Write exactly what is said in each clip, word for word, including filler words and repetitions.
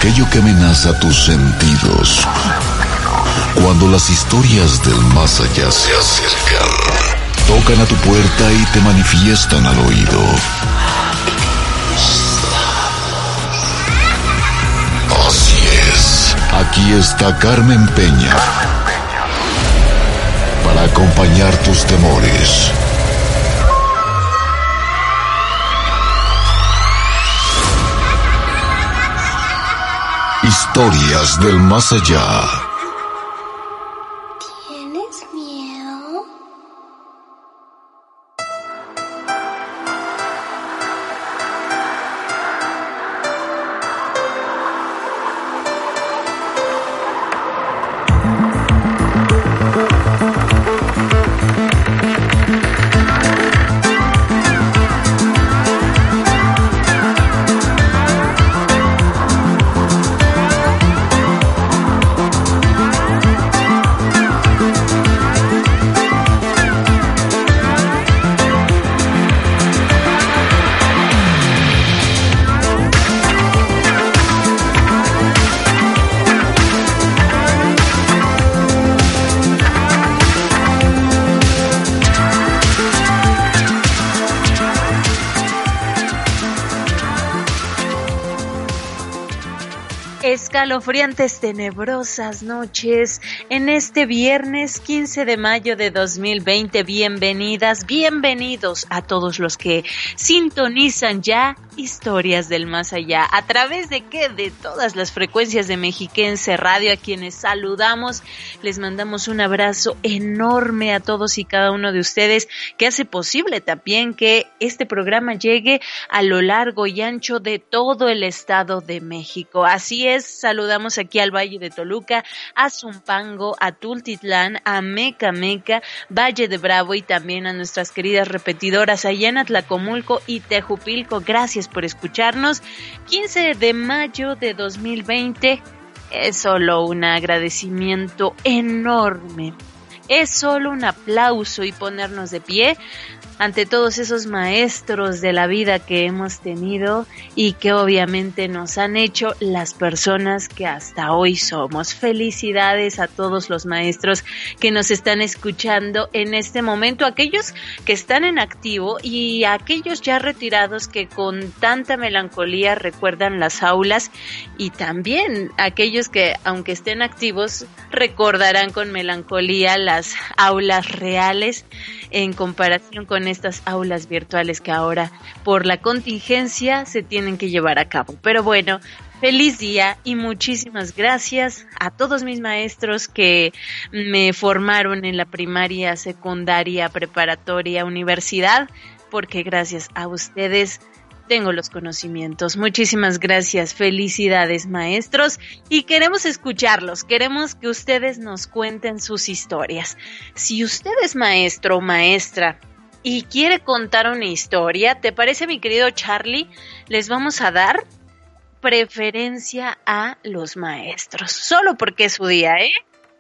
aquello que amenaza tus sentidos. Cuando las historias del más allá se acercan, tocan a tu puerta y te manifiestan al oído. Así es, aquí está Carmen Peña para acompañar tus temores. Historias del más allá. ¿Tienes miedo? Escalofriantes, tenebrosas noches en este viernes quince de mayo de dos mil veinte. Bienvenidas, bienvenidos a todos los que sintonizan ya Historias del Más Allá. ¿A través de qué? De todas las frecuencias de Mexiquense Radio, a quienes saludamos. Les mandamos un abrazo enorme a todos y cada uno de ustedes, que hace posible también que este programa llegue a lo largo y ancho de todo el Estado de México. Así es, saludamos aquí al Valle de Toluca, a Zumpango, a Tultitlán, a Mecameca, Valle de Bravo y también a nuestras queridas repetidoras allá en Atlacomulco y Tejupilco. Gracias por escucharnos. quince de mayo de dos mil veinte es solo un agradecimiento enorme. Es solo un aplauso y ponernos de pie ante todos esos maestros de la vida que hemos tenido y que obviamente nos han hecho las personas que hasta hoy somos. Felicidades a todos los maestros que nos están escuchando en este momento, aquellos que están en activo y aquellos ya retirados que con tanta melancolía recuerdan las aulas, y también aquellos que, aunque estén activos, recordarán con melancolía las aulas reales en comparación con estas aulas virtuales que ahora por la contingencia se tienen que llevar a cabo. Pero bueno, feliz día y muchísimas gracias a todos mis maestros que me formaron en la primaria, secundaria, preparatoria, universidad, porque gracias a ustedes tengo los conocimientos. Muchísimas gracias, felicidades maestros, y queremos escucharlos, queremos que ustedes nos cuenten sus historias. Si usted es maestro o maestra y quiere contar una historia, ¿te parece, mi querido Charlie? Les vamos a dar preferencia a los maestros, solo porque es su día, ¿eh?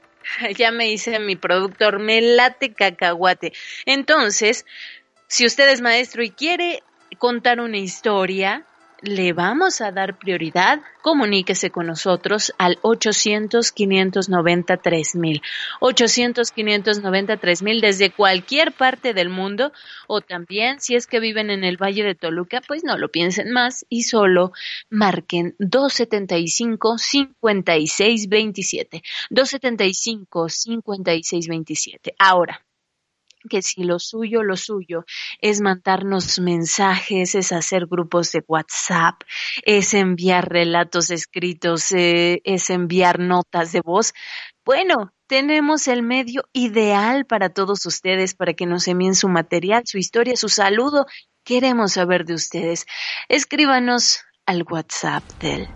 Ya me dice mi productor, me late cacahuate. Entonces, si usted es maestro y quiere contar una historia, le vamos a dar prioridad. Comuníquese con nosotros al ochocientos, quinientos noventa, tres mil. ochocientos, quinientos noventa, tres mil desde cualquier parte del mundo, o también si es que viven en el Valle de Toluca, pues no lo piensen más y solo marquen dos setenta y cinco, cincuenta y seis veintisiete. dos setenta y cinco, cincuenta y seis veintisiete. Ahora, que si lo suyo, lo suyo es mandarnos mensajes, es hacer grupos de WhatsApp, es enviar relatos escritos, eh, es enviar notas de voz, bueno, tenemos el medio ideal para todos ustedes, para que nos envíen su material, su historia, su saludo. Queremos saber de ustedes. Escríbanos al WhatsApp del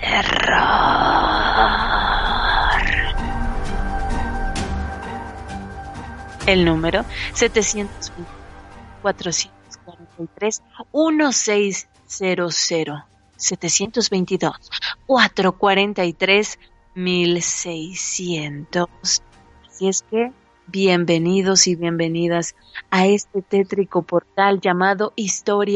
terror. El número setecientos veinte, cuatrocientos cuarenta y tres, dieciséis cero cero. setecientos veintidós, cuatrocientos cuarenta y tres, mil seiscientos. Así es que bienvenidos y bienvenidas a este tétrico portal llamado Historias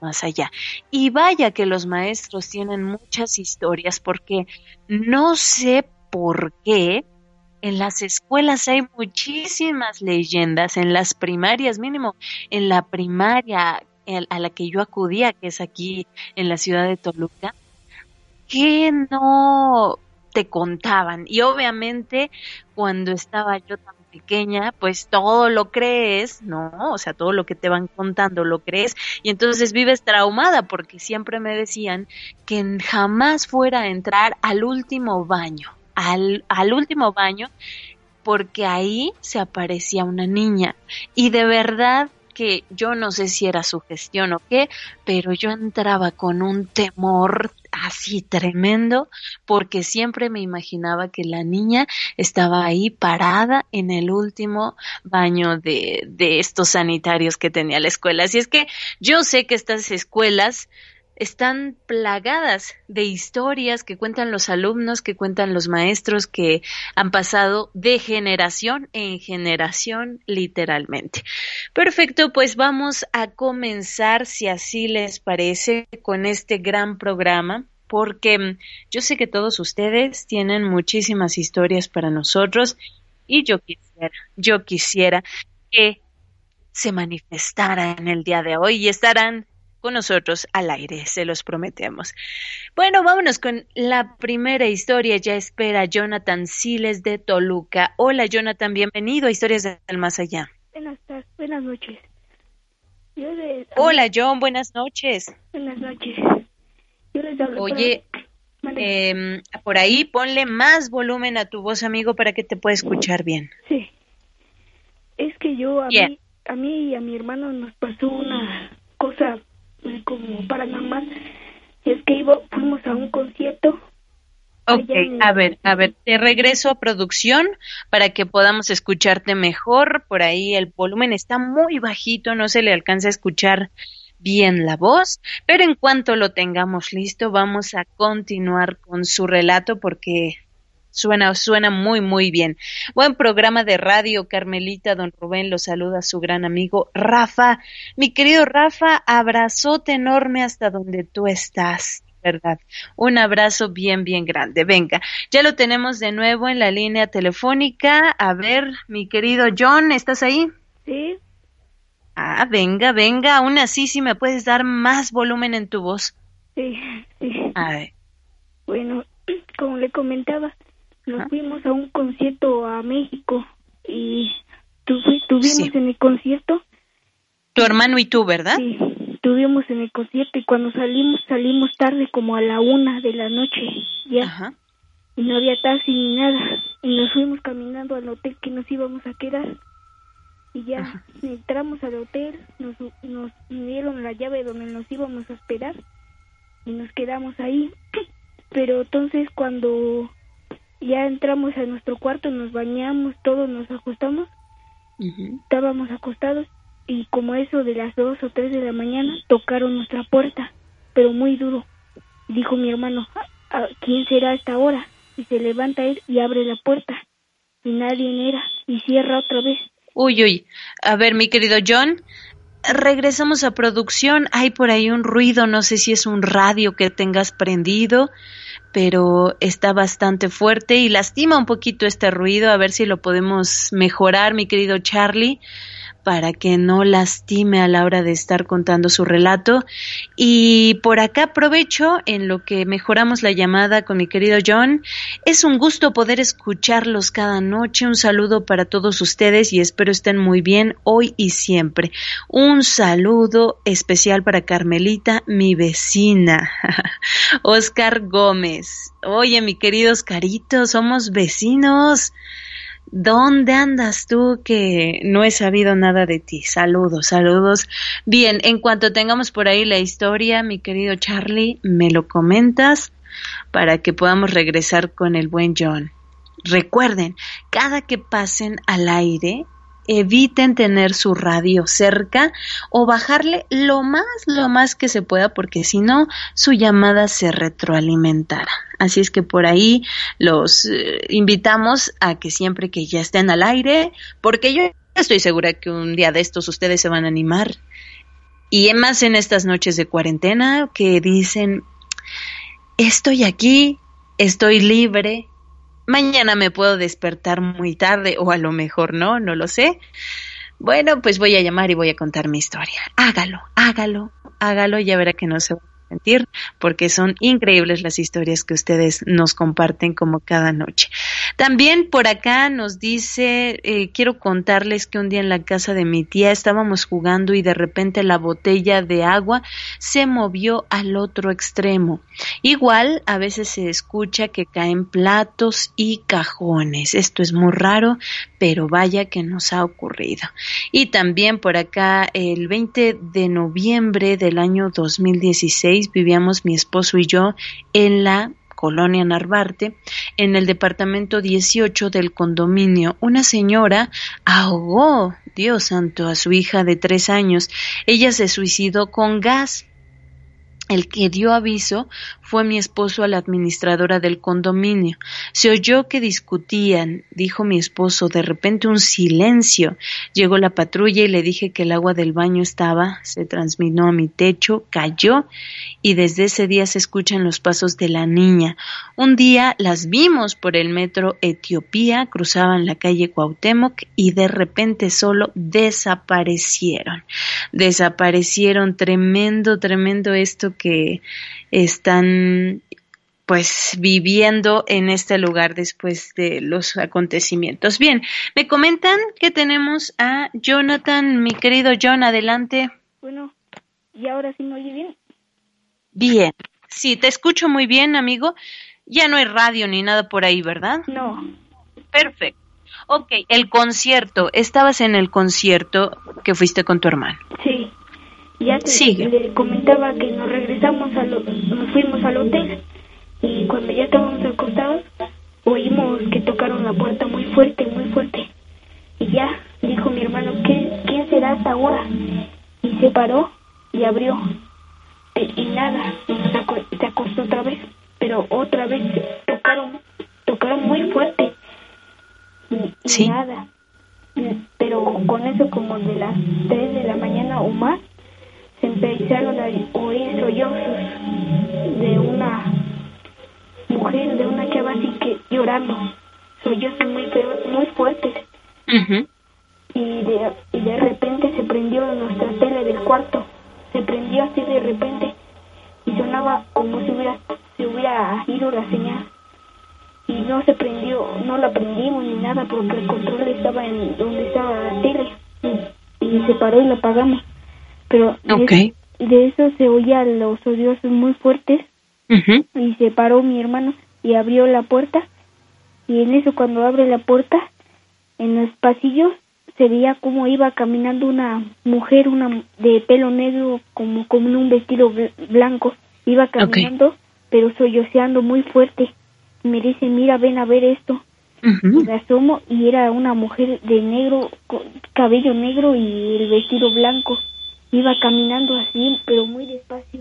más allá. Y vaya que los maestros tienen muchas historias, porque no sé por qué en las escuelas hay muchísimas leyendas, en las primarias, mínimo en la primaria a la que yo acudía, que es aquí en la ciudad de Toluca, que no te contaban. Y obviamente cuando estaba yo tan pequeña, pues todo lo crees, ¿no? O sea, todo lo que te van contando lo crees, y entonces vives traumada, porque siempre me decían que jamás fuera a entrar al último baño, al, al último baño, porque ahí se aparecía una niña, y de verdad que yo no sé si era sugestión o qué, pero yo entraba con un temor así tremendo, porque siempre me imaginaba que la niña estaba ahí parada en el último baño de, de estos sanitarios que tenía la escuela. Así es que yo sé que estas escuelas están plagadas de historias que cuentan los alumnos, que cuentan los maestros, que han pasado de generación en generación, literalmente. Perfecto, pues vamos a comenzar, si así les parece, con este gran programa, porque yo sé que todos ustedes tienen muchísimas historias para nosotros, y yo quisiera, yo quisiera que se manifestaran en el día de hoy y estarán con nosotros al aire, se los prometemos. Bueno, vámonos con la primera historia. Ya espera Jonathan Siles de Toluca. Hola, Jonathan, bienvenido a Historias del Más Allá. Buenas tardes, buenas noches. Yo les, Hola, John, buenas noches. Buenas noches. Yo les hablo. Oye, para... eh, por ahí ponle más volumen a tu voz, amigo, para que te pueda escuchar bien. Sí. Es que yo, a Bien. mí, a mí y a mi hermano nos pasó una cosa como paranormal. Es que iba, fuimos a un concierto. Ok, en... a ver, a ver, te regreso a producción para que podamos escucharte mejor. Por ahí el volumen está muy bajito, no se le alcanza a escuchar bien la voz, pero en cuanto lo tengamos listo, vamos a continuar con su relato porque suena, suena muy, muy bien. Buen programa de radio, Carmelita. Don Rubén lo saluda a su gran amigo Rafa. Mi querido Rafa, abrazote enorme hasta donde tú estás. ¿Verdad? Un abrazo bien, bien grande. Venga, ya lo tenemos de nuevo en la línea telefónica. A ver, mi querido John, ¿estás ahí? Sí. Ah, venga, venga, aún así si me puedes dar más volumen en tu voz. Sí, sí. A ver. Bueno, como le comentaba, nos ¿Ah? fuimos a un concierto a México y tu, tuvimos Sí. en el concierto. Tu hermano y tú, ¿verdad? Sí. Estuvimos en el concierto y cuando salimos, salimos tarde, como a la una de la noche, ya. Ajá. Y no había taxi ni nada. Y nos fuimos caminando al hotel que nos íbamos a quedar. Y ya Ajá. entramos al hotel, nos, nos dieron la llave donde nos íbamos a esperar y nos quedamos ahí. Pero entonces cuando ya entramos a nuestro cuarto, nos bañamos, todos nos ajustamos, uh-huh. estábamos acostados. Y como eso de las dos o tres de la mañana, tocaron nuestra puerta, pero muy duro. Dijo mi hermano, ¿quién será a esta hora? Y se levanta él y abre la puerta. Y nadie era, y cierra otra vez. Uy, uy. A ver, mi querido John, regresamos a producción. Hay por ahí un ruido, no sé si es un radio que tengas prendido, pero está bastante fuerte y lastima un poquito este ruido. A ver si lo podemos mejorar, mi querido Charlie, para que no lastime a la hora de estar contando su relato. Y por acá aprovecho en lo que mejoramos la llamada con mi querido John. Es un gusto poder escucharlos cada noche. Un saludo para todos ustedes y espero estén muy bien hoy y siempre. Un saludo especial para Carmelita, mi vecina. Oscar Gómez. Oye, mi querido Oscarito, somos vecinos. ¿Dónde andas tú que no he sabido nada de ti? Saludos, saludos. Bien, en cuanto tengamos por ahí la historia, mi querido Charlie, me lo comentas para que podamos regresar con el buen John. Recuerden, cada que pasen al aire, eviten tener su radio cerca o bajarle lo más, lo más que se pueda, porque si no, su llamada se retroalimentará. Así es que por ahí los eh, invitamos a que siempre que ya estén al aire, porque yo estoy segura que un día de estos ustedes se van a animar Y más en estas noches de cuarentena que dicen, estoy aquí, estoy libre, mañana me puedo despertar muy tarde o a lo mejor no, no lo sé. Bueno, pues voy a llamar y voy a contar mi historia. Hágalo, hágalo, hágalo, ya verá que no se va a sentir, porque son increíbles las historias que ustedes nos comparten como cada noche. También por acá nos dice, eh, quiero contarles que un día en la casa de mi tía estábamos jugando y de repente la botella de agua se movió al otro extremo. Igual a veces se escucha que caen platos y cajones. Esto es muy raro, pero vaya que nos ha ocurrido. Y también por acá el veinte de noviembre del año dos mil dieciséis vivíamos mi esposo y yo en la Colonia Narvarte, en el departamento dieciocho del condominio. Una señora ahogó, Dios santo, a su hija de tres años. Ella se suicidó con gas. El que dio aviso fue mi esposo a la administradora del condominio. Se oyó que discutían, dijo mi esposo, de repente un silencio. Llegó la patrulla y le dije que el agua del baño estaba, se transminó a mi techo, cayó y desde ese día se escuchan los pasos de la niña. Un día las vimos por el metro Etiopía, cruzaban la calle Cuauhtémoc y de repente solo desaparecieron. Desaparecieron, tremendo, tremendo esto que están pues viviendo en este lugar después de los acontecimientos. Bien, me comentan que tenemos a Jonathan, mi querido John, adelante. Bueno, ¿y ahora sí me oye bien? Bien, sí, te escucho muy bien, amigo. Ya no hay radio ni nada por ahí, ¿verdad? No. Perfecto. Ok, el concierto, ¿estabas en el concierto que fuiste con tu hermano? Sí. Ya te, Sigue. le comentaba que nos regresamos, a lo, nos fuimos al hotel y cuando ya estábamos acostados oímos que tocaron la puerta muy fuerte, muy fuerte. Y ya dijo mi hermano, ¿qué, ¿quién será hasta ahora? Y se paró y abrió. Y, y nada, y nos aco- se acostó otra vez, pero otra vez tocaron, tocaron muy fuerte. Y, y Sí. nada. Pero con eso como de las tres de la mañana o más, se empezaron a oír sollozos de una mujer, de una chava así que llorando, sollozos muy feos, muy fuertes. Uh-huh. Y de, y de repente se prendió nuestra tele del cuarto, se prendió así de repente y sonaba como si hubiera, se hubiera ido la señal. Y no se prendió, no la prendimos ni nada porque el control estaba en donde estaba la tele y, y se paró y la apagamos. Pero Okay. de, de eso se oían los sollozos muy fuertes. Uh-huh. Y se paró mi hermano y abrió la puerta. Y en eso cuando abre la puerta, en los pasillos se veía como iba caminando una mujer, una de pelo negro, como con un vestido bl- blanco. Iba caminando, okay, pero solloceando muy fuerte. Y me dice, mira, ven a ver esto. Uh-huh. Y me asomo y era una mujer de negro, con cabello negro y el vestido blanco. Iba caminando así, pero muy despacio.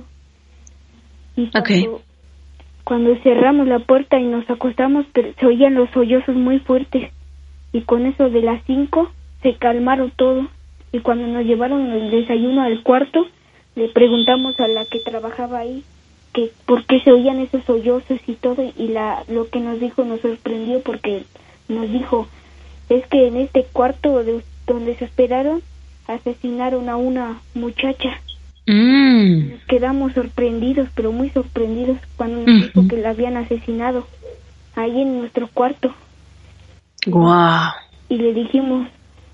Y cuando, okay, cuando cerramos la puerta y nos acostamos, pero se oían los sollozos muy fuertes. Y con eso de las cinco se calmaron todo. Y cuando nos llevaron el desayuno al cuarto, le preguntamos a la que trabajaba ahí que por qué se oían esos sollozos y todo. Y la lo que nos dijo nos sorprendió porque nos dijo, es que en este cuarto de, donde se esperaron, asesinaron a una muchacha. Mm. Nos quedamos sorprendidos, pero muy sorprendidos cuando nos uh-huh. dijo que la habían asesinado ahí en nuestro cuarto. Wow. Y le dijimos,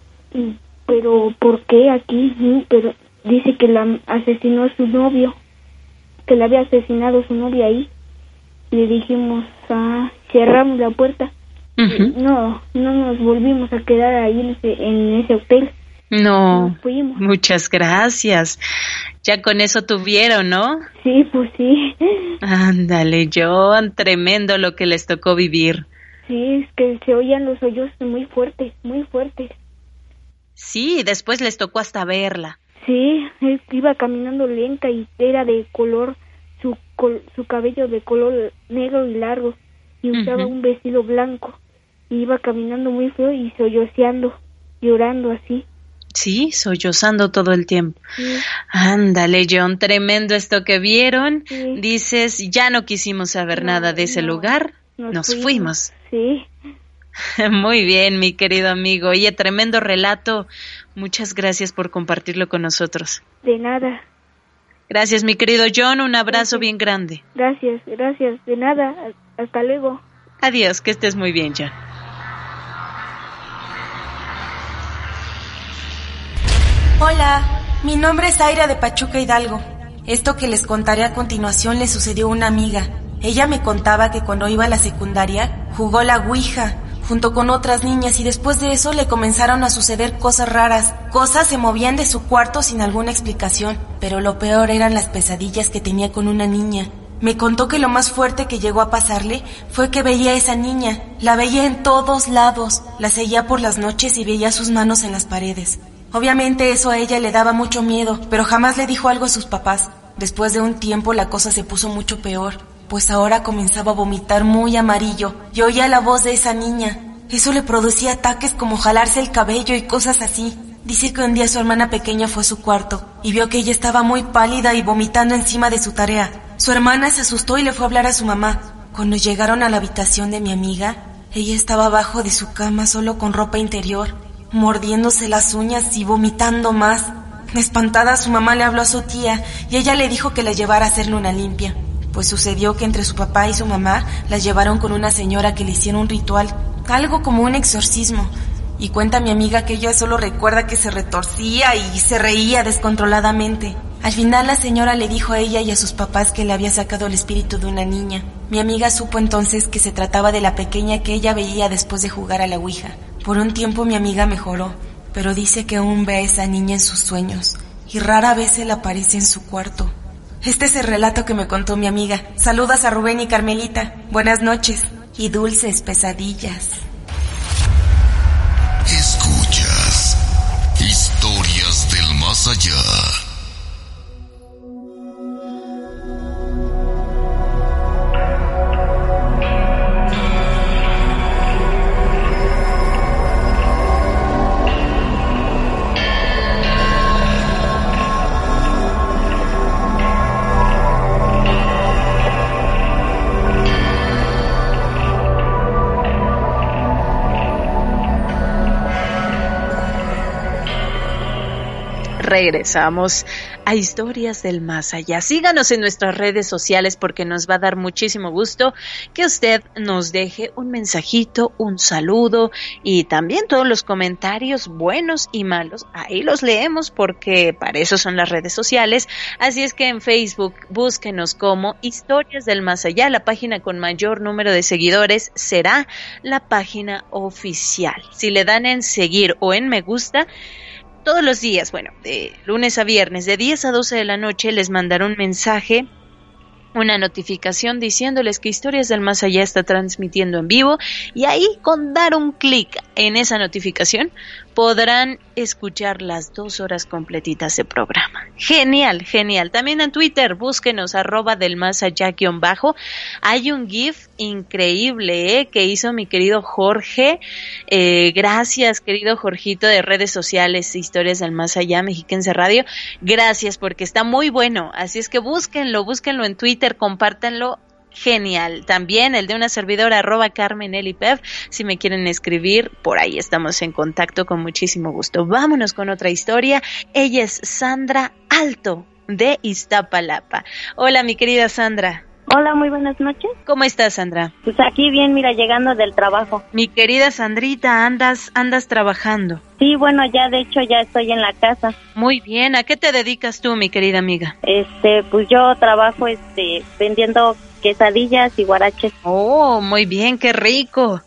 pero ¿por qué aquí? Pero dice que la asesinó su novio, que la había asesinado su novia ahí. Le dijimos, ah, cerramos la puerta. Uh-huh. No, no nos volvimos a quedar ahí en ese, en ese hotel. No, muchas gracias. Ya con eso tuvieron, ¿no? Sí, pues sí. Ándale, John, tremendo lo que les tocó vivir. Sí, es que se oían los sollozos muy fuertes, muy fuertes. Sí, después les tocó hasta verla. Sí, él iba caminando lenta y era de color, su col, su cabello de color negro y largo, y usaba uh-huh. un vestido blanco. Y iba caminando muy feo y solloceando, llorando así. Sí, sollozando todo el tiempo. Sí. Ándale, John, tremendo esto que vieron. Sí. Dices, ya no quisimos saber No, nada de ese no. lugar, Nos, nos fuimos. fuimos. Sí. Muy bien, mi querido amigo. Oye, tremendo relato. Muchas gracias por compartirlo con nosotros. De nada. Gracias, mi querido John. Un abrazo Gracias. bien grande. Gracias, gracias. De nada. Hasta luego. Adiós, que estés muy bien, John. Hola, mi nombre es Aira de Pachuca Hidalgo. Esto que les contaré a continuación le sucedió a una amiga. Ella me contaba que cuando iba a la secundaria jugó la ouija junto con otras niñas y después de eso le comenzaron a suceder cosas raras. Cosas se movían de su cuarto sin alguna explicación, pero lo peor eran las pesadillas que tenía con una niña. Me contó que lo más fuerte que llegó a pasarle fue que veía a esa niña. La veía en todos lados, la seguía por las noches y veía sus manos en las paredes. Obviamente eso a ella le daba mucho miedo, pero jamás le dijo algo a sus papás. Después de un tiempo la cosa se puso mucho peor, pues ahora comenzaba a vomitar muy amarillo y oía la voz de esa niña. Eso le producía ataques como jalarse el cabello y cosas así. Dice que un día su hermana pequeña fue a su cuarto y vio que ella estaba muy pálida y vomitando encima de su tarea. Su hermana se asustó y le fue a hablar a su mamá. Cuando llegaron a la habitación de mi amiga, ella estaba abajo de su cama solo con ropa interior, mordiéndose las uñas y vomitando más. Espantada, su mamá le habló a su tía y ella le dijo que la llevara a hacerle una limpia. Pues sucedió que entre su papá y su mamá las llevaron con una señora que le hicieron un ritual, algo como un exorcismo. Y cuenta mi amiga que ella solo recuerda que se retorcía y se reía descontroladamente. Al final la señora le dijo a ella y a sus papás que le había sacado el espíritu de una niña. Mi amiga supo entonces que se trataba de la pequeña que ella veía después de jugar a la ouija. Por un tiempo mi amiga mejoró, pero dice que aún ve a esa niña en sus sueños y rara vez se le aparece en su cuarto. Este es el relato que me contó mi amiga. Saludos a Rubén y Carmelita. Buenas noches y dulces pesadillas. Escuchas Historias del Más Allá. Regresamos a Historias del Más Allá. Síganos en nuestras redes sociales porque nos va a dar muchísimo gusto que usted nos deje un mensajito, un saludo y también todos los comentarios buenos y malos. Ahí los leemos porque para eso son las redes sociales. Así es que en Facebook búsquenos como Historias del Más Allá. La página con mayor número de seguidores será la página oficial. Si le dan en seguir o en me gusta, todos los días, bueno, de lunes a viernes, de diez a doce de la noche, les mandaré un mensaje, una notificación diciéndoles que Historias del Más Allá está transmitiendo en vivo y ahí con dar un clic en esa notificación podrán escuchar las dos horas completitas de programa. Genial, genial. También en Twitter, búsquenos arroba del más allá guión bajo. Hay un GIF increíble ¿eh? que hizo mi querido Jorge. Eh, gracias, querido Jorgito de redes sociales, Historias del Más Allá, Mexiquense Radio. Gracias porque está muy bueno. Así es que búsquenlo, búsquenlo en Twitter, compártanlo. Genial. También el de una servidora arroba Carmen Elipev. Si me quieren escribir, por ahí estamos en contacto con muchísimo gusto. Vámonos con otra historia. Ella es Sandra Alto de Iztapalapa. Hola, mi querida Sandra. Hola, muy buenas noches. ¿Cómo estás, Sandra? Pues aquí bien, mira, llegando del trabajo. Mi querida Sandrita, andas andas trabajando. Sí, bueno, ya de hecho ya estoy en la casa. Muy bien. ¿A qué te dedicas tú, mi querida amiga? Este, pues yo trabajo este vendiendo quesadillas y guaraches. Oh, muy bien, qué rico.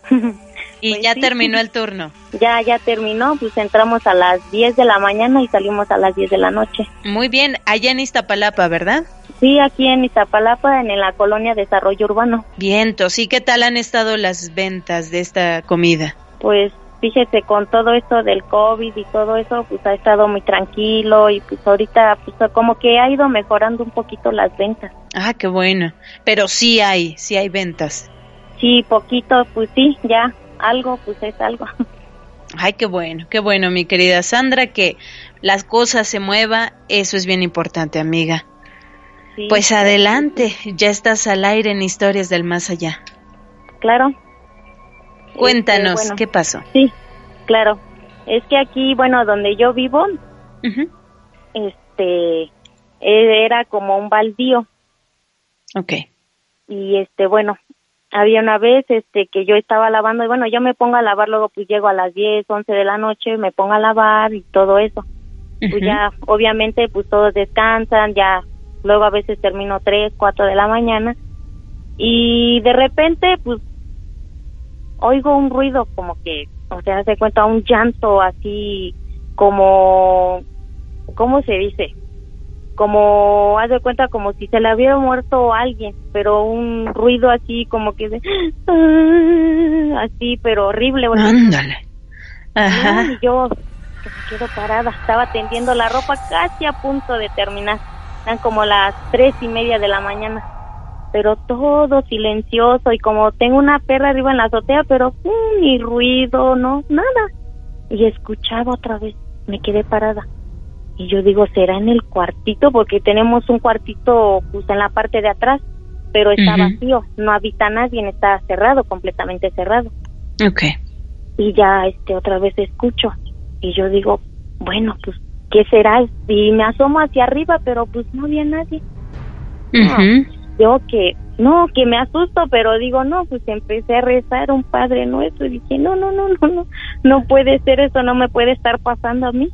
Y Pues ya sí. terminó el turno. Ya, ya terminó, pues entramos a las diez de la mañana y salimos a las diez de la noche. Muy bien, allá en Iztapalapa, ¿verdad? Sí, aquí en Iztapalapa, en la colonia Desarrollo Urbano. Vientos. ¿Y qué tal han estado las ventas de esta comida? Pues fíjese, con todo esto del COVID y todo eso, pues ha estado muy tranquilo y pues ahorita pues como que ha ido mejorando un poquito las ventas. Ah, qué bueno. Pero sí hay, sí hay ventas. Sí, poquito, pues sí, ya, algo, pues es algo. Ay, qué bueno, qué bueno, mi querida Sandra, que las cosas se muevan, eso es bien importante, amiga. Sí, pues adelante, sí. Ya estás al aire en Historias del Más Allá. Claro. Cuéntanos, este, bueno, ¿qué pasó? Sí, claro. Es que aquí, bueno, donde yo vivo, uh-huh. este, era como un baldío. Okay. Y este, bueno, había una vez este que yo estaba lavando y bueno, yo me pongo a lavar, luego pues llego a las diez, once de la noche, me pongo a lavar y todo eso. Uh-huh. Pues ya, obviamente, pues todos descansan, ya luego a veces termino tres, cuatro de la mañana y de repente pues oigo un ruido como que, o sea, se cuenta un llanto así como, ¿cómo se dice? Como, haz de cuenta como si se le hubiera muerto alguien, pero un ruido así como que de, uh, así, pero horrible. Ándale. Ajá. Y yo me quedo parada, estaba tendiendo la ropa casi a punto de terminar, eran como las tres y media de la mañana, pero todo silencioso y como tengo una perra arriba en la azotea, pero uh, ni ruido, no, nada. Y escuchaba otra vez, me quedé parada. Y yo digo, ¿será en el cuartito? Porque tenemos un cuartito pues en la parte de atrás, pero está uh-huh. vacío, no habita nadie, está cerrado, completamente cerrado. Okay. Y ya este otra vez escucho, y yo digo, bueno, pues, ¿qué será? Y me asomo hacia arriba, pero pues no había nadie. Uh-huh. No, yo que, no, que me asusto, pero digo, no, pues empecé a rezar un Padre Nuestro, y dije, no, no, no, no, no, no puede ser eso, no me puede estar pasando a mí.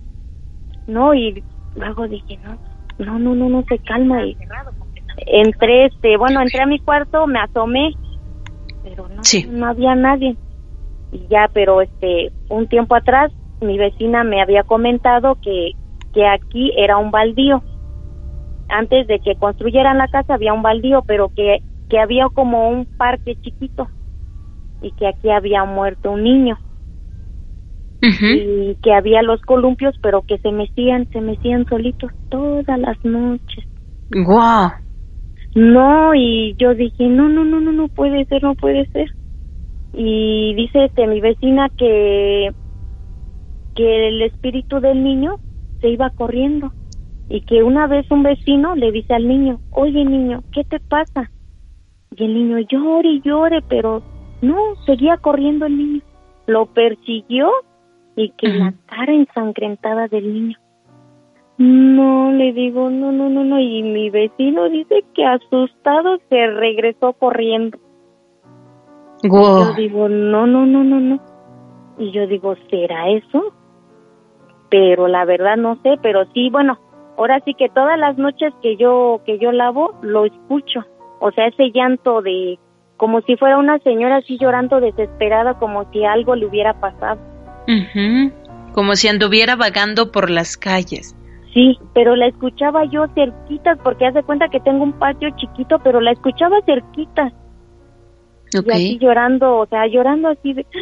No, y luego dije, no, no, no, no, no se calma, y entré, este, bueno, entré a mi cuarto, me asomé, pero no, sí. no había nadie, y ya, pero este, un tiempo atrás, mi vecina me había comentado que, que aquí era un baldío, antes de que construyeran la casa había un baldío, pero que, que había como un parque chiquito, y que aquí había muerto un niño. Uh-huh. Y que había los columpios, pero que se mecían, se mecían solitos todas las noches. Wow. No, y yo dije, no, no, no, no, no puede ser, no puede ser. Y dice este mi vecina que que el espíritu del niño se iba corriendo y que una vez un vecino le dice al niño, oye niño, ¿qué te pasa? Y el niño llore y llore, pero no, seguía corriendo el niño. Lo persiguió y que uh-huh. la cara ensangrentada del niño. No, le digo, no, no, no, no, y mi vecino dice que asustado se regresó corriendo. Wow. Yo digo, no, no, no, no, no. Y yo digo, ¿será eso? Pero la verdad no sé, pero sí, bueno, ahora sí que todas las noches que yo que yo lavo, lo escucho. O sea, ese llanto de, como si fuera una señora así llorando desesperada, como si algo le hubiera pasado. Uh-huh. Como si anduviera vagando por las calles. Sí, pero la escuchaba yo cerquitas, porque haz de cuenta que tengo un patio chiquito, pero la escuchaba cerquitas. Okay. Y así llorando, o sea, llorando así de...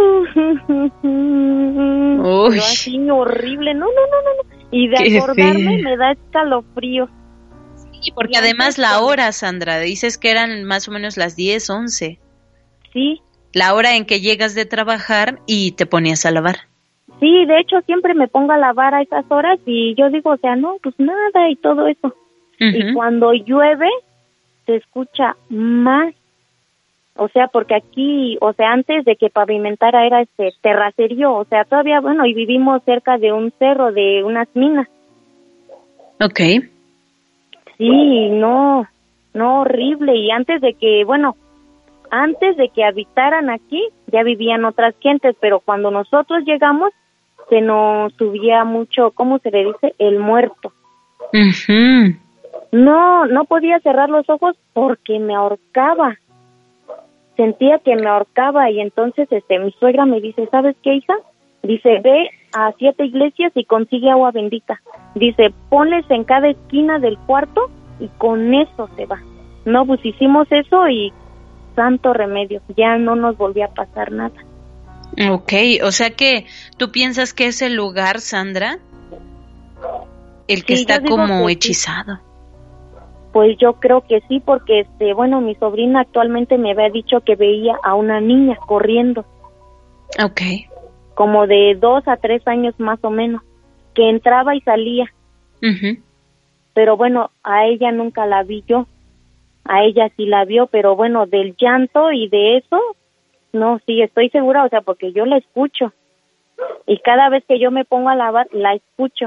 Pero así horrible, no, no, no, no, no. Y de Qué acordarme fea. Me da escalofrío. Sí, porque y además la hora, Sandra, dices que eran más o menos las diez, once. Sí. La hora en que llegas de trabajar y te ponías a lavar. Sí, de hecho siempre me pongo a lavar a esas horas y yo digo, o sea, no, pues nada y todo eso. Uh-huh. Y cuando llueve se escucha más. O sea, porque aquí, o sea, antes de que pavimentara era este terracerío, o sea, todavía, bueno, y vivimos cerca de un cerro, de unas minas. Okay. Sí, no, no, horrible. Y antes de que, bueno, antes de que habitaran aquí, ya vivían otras gentes, pero cuando nosotros llegamos, se nos subía mucho, ¿cómo se le dice? El muerto. Uh-huh. No, no podía cerrar los ojos porque me ahorcaba. Sentía que me ahorcaba y entonces este mi suegra me dice, ¿sabes qué, hija? Dice, ve a siete iglesias y consigue agua bendita. Dice, ponles en cada esquina del cuarto y con eso se va. No, pues hicimos eso y santo remedio, ya no nos volvió a pasar nada. Okay, o sea que tú piensas que ese lugar, Sandra, el que sí, está como que hechizado. Sí. Pues yo creo que sí, porque este, bueno, mi sobrina actualmente me había dicho que veía a una niña corriendo. Okay. como de dos a tres años más o menos, que entraba y salía. Uh-huh. Pero bueno, a ella nunca la vi yo, a ella sí la vio, pero bueno, del llanto y de eso, no, sí, estoy segura, o sea, porque yo la escucho, y cada vez que yo me pongo a lavar, la escucho.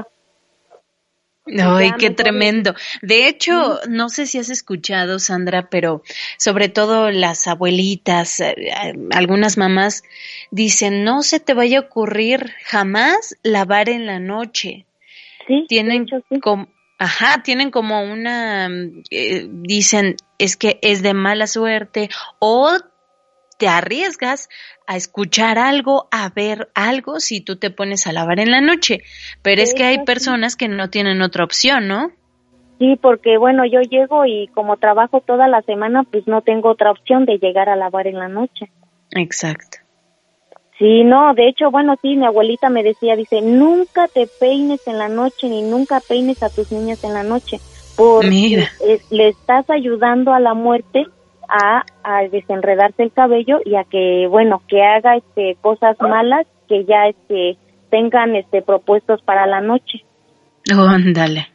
Ay, qué tremendo. De hecho, ¿sí? No sé si has escuchado, Sandra, pero sobre todo las abuelitas, eh, algunas mamás dicen, no se te vaya a ocurrir jamás lavar en la noche. Sí, tienen de hecho, sí. como, ajá, tienen como una, eh, dicen, es que es de mala suerte, o te arriesgas a escuchar algo, a ver algo si tú te pones a lavar en la noche, pero es que hay personas que no tienen otra opción, ¿no? Sí, porque bueno, yo llego y como trabajo toda la semana, pues no tengo otra opción de llegar a lavar en la noche. Exacto. Sí, no, de hecho, bueno, sí, mi abuelita me decía, dice, nunca te peines en la noche, ni nunca peines a tus niñas en la noche, porque eh, le estás ayudando a la muerte A, a desenredarse el cabello y a que, bueno, que haga este cosas malas que ya este tengan este propuestos para la noche. Oh, ándale.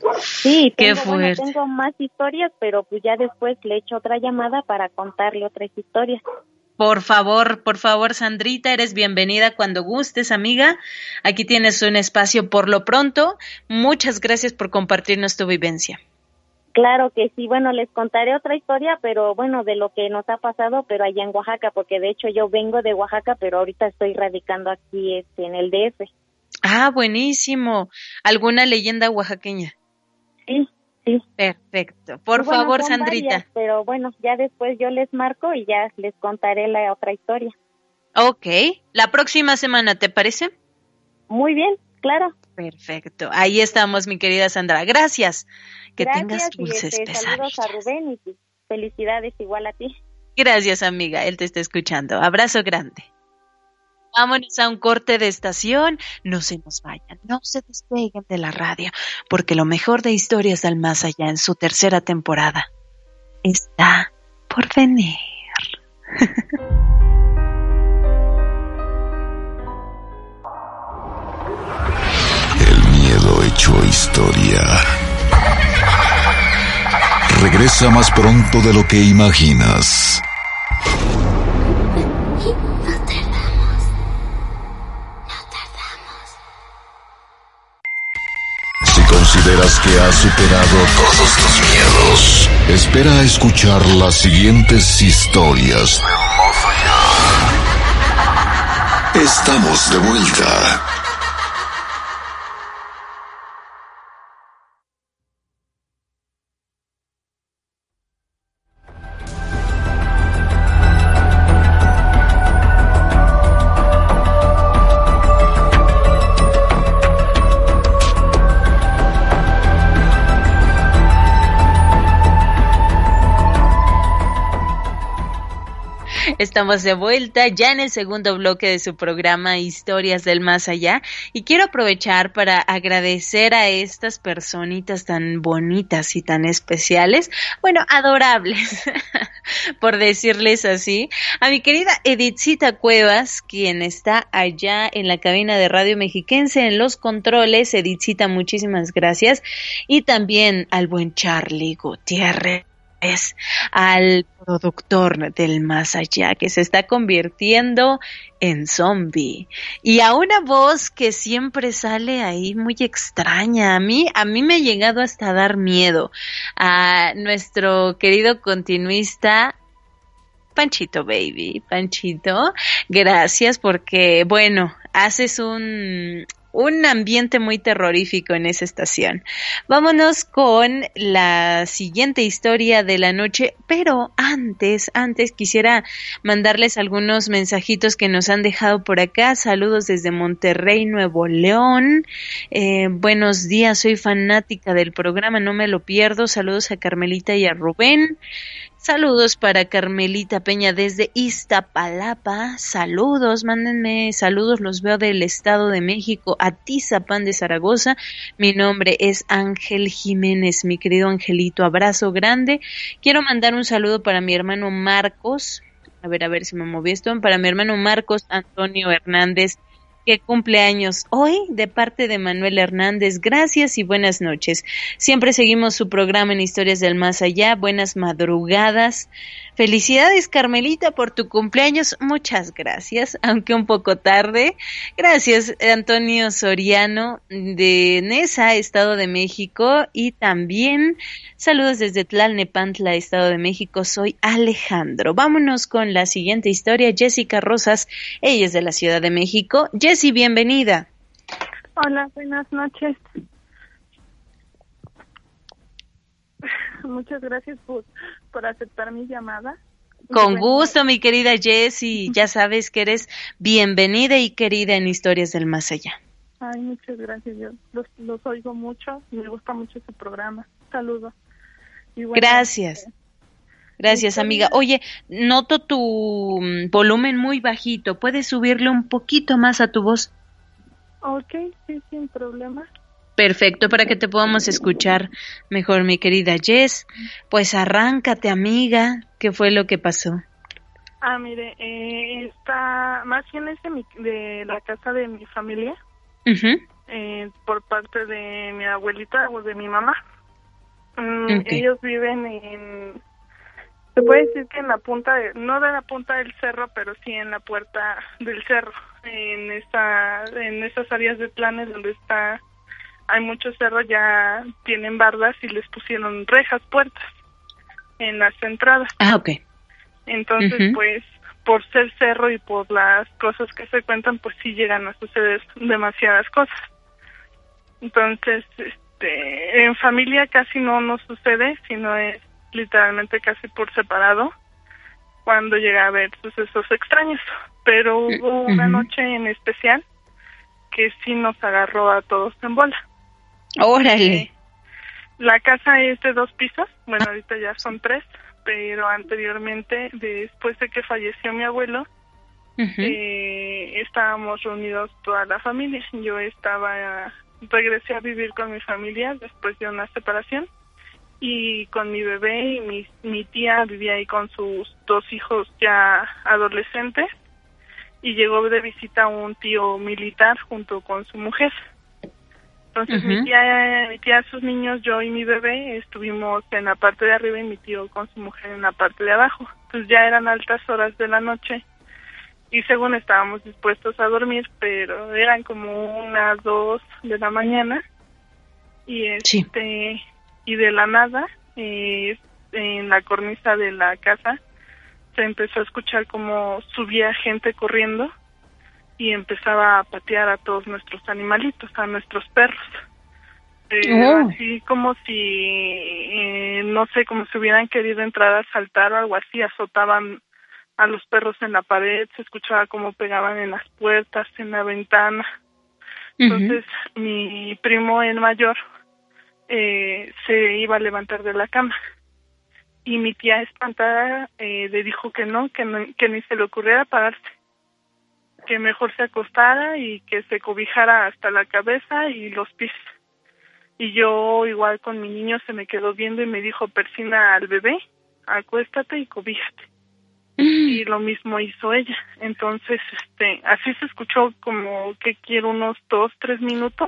Sí, tengo, qué fuerte. Bueno, tengo más historias, pero pues ya después le echo otra llamada para contarle otras historias. Por favor, por favor, Sandrita, eres bienvenida cuando gustes, amiga. Aquí tienes un espacio por lo pronto. Muchas gracias por compartirnos tu vivencia. Claro que sí, bueno, les contaré otra historia, pero bueno, de lo que nos ha pasado, pero allá en Oaxaca, porque de hecho yo vengo de Oaxaca, pero ahorita estoy radicando aquí este, en el D F. Ah, buenísimo. ¿Alguna leyenda oaxaqueña? Sí, sí. Perfecto. Por bueno, favor, son Sandrita. Varias, pero bueno, ya después yo les marco y ya les contaré la otra historia. Ok. La próxima semana, ¿te parece? Muy bien, claro. Perfecto. Ahí estamos, mi querida Sandra. Gracias. Que Gracias, tengas dulces y este, saludos a Rubén y felicidades igual a ti. Gracias, amiga. Él te está escuchando. Abrazo grande. Vámonos a un corte de estación. No se nos vayan, no se despeguen de la radio, porque lo mejor de Historias del Más Allá en su tercera temporada está por venir. El miedo hecho historia. Regresa más pronto de lo que imaginas. No tardamos. No tardamos. Si consideras que has superado todos tus miedos, espera a escuchar las siguientes historias del más allá. Estamos de vuelta. Estamos de vuelta ya en el segundo bloque de su programa Historias del Más Allá y quiero aprovechar para agradecer a estas personitas tan bonitas y tan especiales, bueno, adorables, por decirles así, a mi querida Edithcita Cuevas, quien está allá en la cabina de Radio Mexiquense en los controles. Edithcita, muchísimas gracias, y también al buen Charlie Gutiérrez, al productor del Más Allá, que se está convirtiendo en zombie, y a una voz que siempre sale ahí muy extraña. A mí, a mí me ha llegado hasta a dar miedo, a nuestro querido continuista Panchito Baby. Panchito, gracias, porque bueno, haces un un ambiente muy terrorífico en esa estación. Vámonos con la siguiente historia de la noche, pero antes, antes quisiera mandarles algunos mensajitos que nos han dejado por acá. Saludos desde Monterrey, Nuevo León. Eh, buenos días, soy fanática del programa, no me lo pierdo. Saludos a Carmelita y a Rubén. Saludos para Carmelita Peña desde Iztapalapa. Saludos, mándenme saludos, los veo del Estado de México, Atizapán de Zaragoza. Mi nombre es Ángel Jiménez, mi querido Angelito, abrazo grande. Quiero mandar un saludo para mi hermano Marcos. A ver, a ver si me moví esto. Para mi hermano Marcos Antonio Hernández que cumple años hoy, de parte de Manuel Hernández. Gracias y buenas noches. Siempre seguimos su programa en Historias del Más Allá. Buenas madrugadas. Felicidades, Carmelita, por tu cumpleaños. Muchas gracias, aunque un poco tarde. Gracias, Antonio Soriano, de Nesa, Estado de México. Y también saludos desde Tlalnepantla, Estado de México. Soy Alejandro. Vámonos con la siguiente historia. Jessica Rosas, ella es de la Ciudad de México. Jessy, bienvenida. Hola, buenas noches. Muchas gracias por, por aceptar mi llamada. Con gusto, mi querida Jessy. Ya sabes que eres bienvenida y querida en Historias del Más Allá. Ay, muchas gracias. Yo los, los oigo mucho y me gusta mucho su programa. Saludos. Y bueno, gracias. Eh, Gracias, amiga. Oye, noto tu volumen muy bajito. ¿Puedes subirle un poquito más a tu voz? Ok, sí, sin problema. Perfecto, para que te podamos escuchar mejor, mi querida Jess. Pues arráncate, amiga. ¿Qué fue lo que pasó? Ah, mire, eh, está más bien es de, mi, de la casa de mi familia, uh-huh. eh, por parte de mi abuelita o de mi mamá. Mm, okay. Ellos viven en... Se puede decir que en la punta, de, no de la punta del cerro, pero sí en la puerta del cerro, en esa, en esas áreas de planes donde está, hay muchos cerros, ya tienen bardas y les pusieron rejas, puertas en las entradas. Ah, okay. Entonces, uh-huh. pues, por ser cerro y por las cosas que se cuentan, pues sí llegan a suceder demasiadas cosas. Entonces, este, en familia casi no nos sucede, sino es literalmente casi por separado cuando llega a haber sucesos extraños, pero hubo una uh-huh. noche en especial que sí nos agarró a todos en bola. ¡Órale! Eh, la casa es de dos pisos, bueno, ahorita ya son tres, pero anteriormente, después de que falleció mi abuelo, uh-huh. eh, estábamos reunidos toda la familia. Yo estaba, regresé a vivir con mi familia después de una separación, y con mi bebé y mi, mi tía vivía ahí con sus dos hijos ya adolescentes, y llegó de visita un tío militar junto con su mujer. Entonces uh-huh. mi tía, mi tía, sus niños, yo y mi bebé estuvimos en la parte de arriba y mi tío con su mujer en la parte de abajo. Pues ya eran altas horas de la noche y según estábamos dispuestos a dormir, pero eran como unas dos de la mañana y este... Sí. Y de la nada, eh, en la cornisa de la casa, se empezó a escuchar como subía gente corriendo y empezaba a patear a todos nuestros animalitos, a nuestros perros. Eh, oh. Así como si, eh, no sé, como si hubieran querido entrar a saltar o algo así, azotaban a los perros en la pared, se escuchaba como pegaban en las puertas, en la ventana. Entonces, uh-huh. mi primo, el mayor, Eh, se iba a levantar de la cama y mi tía espantada eh, le dijo que no, que no, que ni se le ocurriera pararse, que mejor se acostara y que se cobijara hasta la cabeza y los pies. Y yo igual con mi niño se me quedó viendo y me dijo, persina al bebé, acuéstate y cobíjate. Mm. Y lo mismo hizo ella. Entonces, este, así se escuchó como que quiero unos dos, tres minutos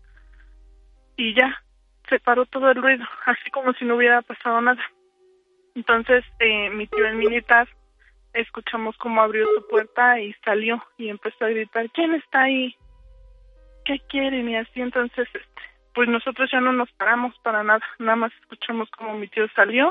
y ya. Se paró todo el ruido, así como si no hubiera pasado nada. Entonces, eh, mi tío el militar, escuchamos cómo abrió su puerta y salió y empezó a gritar, ¿quién está ahí? ¿Qué quieren? Y así, entonces, este, pues nosotros ya no nos paramos para nada, nada más escuchamos cómo mi tío salió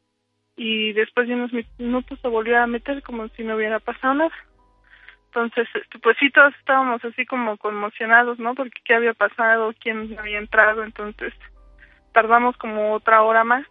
y después de unos minutos se volvió a meter como si no hubiera pasado nada. Entonces, este, pues sí, todos estábamos así como conmocionados, ¿no? Porque qué había pasado, quién había entrado, entonces tardamos como otra hora más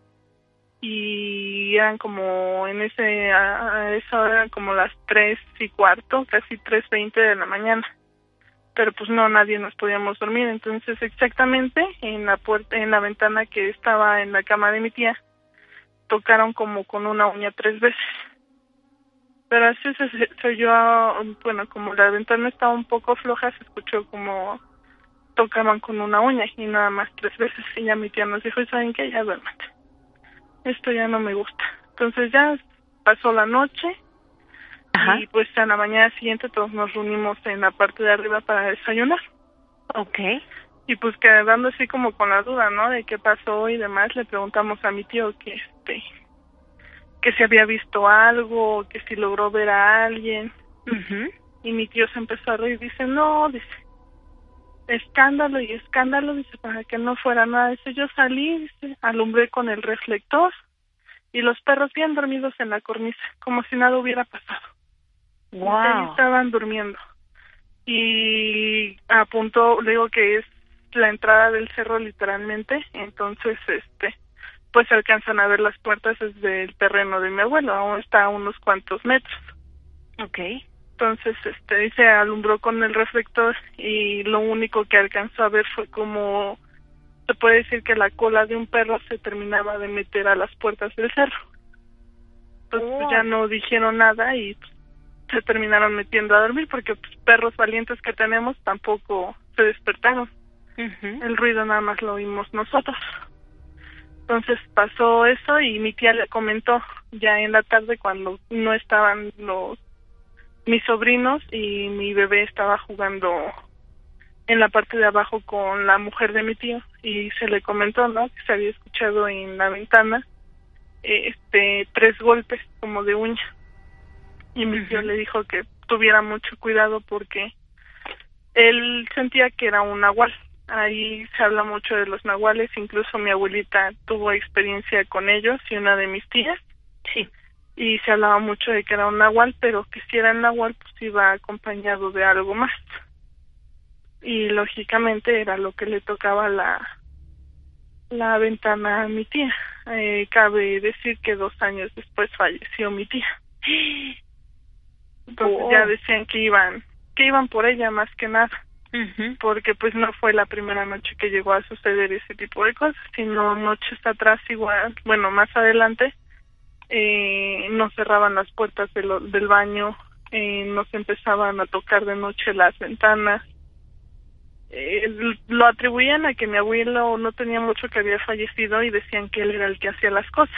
y eran como en ese a esa hora eran como las tres y cuarto, casi tres veinte de la mañana, pero pues no, nadie nos podíamos dormir. Entonces exactamente en la puerta, en la ventana que estaba en la cama de mi tía, tocaron como con una uña tres veces, pero así se, se, se oyó, bueno, como la ventana estaba un poco floja, se escuchó como tocaban con una uña y nada más tres veces. Y ya mi tía nos dijo, ¿saben qué? Ya duérmate, esto ya no me gusta. Entonces ya pasó la noche, Ajá. Y pues a la mañana siguiente todos nos reunimos en la parte de arriba para desayunar. Okay. Y pues quedando así como con la duda, ¿no? De qué pasó y demás, le preguntamos a mi tío que este que si había visto algo, que si logró ver a alguien. Uh-huh. Y mi tío se empezó a reír, dice, no, dice, escándalo y escándalo, dice, para que no fuera nada. Dice, yo salí, dice, alumbré con el reflector y los perros bien dormidos en la cornisa, como si nada hubiera pasado. Wow. Dice, ahí estaban durmiendo. Y apuntó, le digo que es la entrada del cerro literalmente, entonces, este, pues se alcanzan a ver las puertas desde el terreno de mi abuelo, aún está a unos cuantos metros. Okay. Entonces, este, dice, alumbró con el reflector y lo único que alcanzó a ver fue como, se puede decir que la cola de un perro se terminaba de meter a las puertas del cerro. Entonces Oh. pues, ya no dijeron nada y pues, se terminaron metiendo a dormir porque pues, perros valientes que tenemos tampoco se despertaron. Uh-huh. El ruido nada más lo oímos nosotros. Entonces pasó eso y mi tía le comentó ya en la tarde cuando no estaban los mis sobrinos y mi bebé estaba jugando en la parte de abajo con la mujer de mi tío y se le comentó, ¿no? Que se había escuchado en la ventana este tres golpes como de uña y mi tío uh-huh. le dijo que tuviera mucho cuidado porque él sentía que era un nahual. Ahí se habla mucho de los nahuales, incluso mi abuelita tuvo experiencia con ellos y una de mis tías. Sí. Y se hablaba mucho de que era un nahual, pero que si era el nahual, pues iba acompañado de algo más. Y lógicamente era lo que le tocaba la la ventana a mi tía. Eh, cabe decir que dos años después falleció mi tía. Entonces oh. ya decían que iban que iban por ella más que nada. Uh-huh. Porque pues no fue la primera noche que llegó a suceder ese tipo de cosas, sino noches atrás igual, bueno, más adelante, eh, nos cerraban las puertas de lo, del baño, eh, nos empezaban a tocar de noche las ventanas, eh, lo atribuían a que mi abuelo no tenía mucho que había fallecido y decían que él era el que hacía las cosas.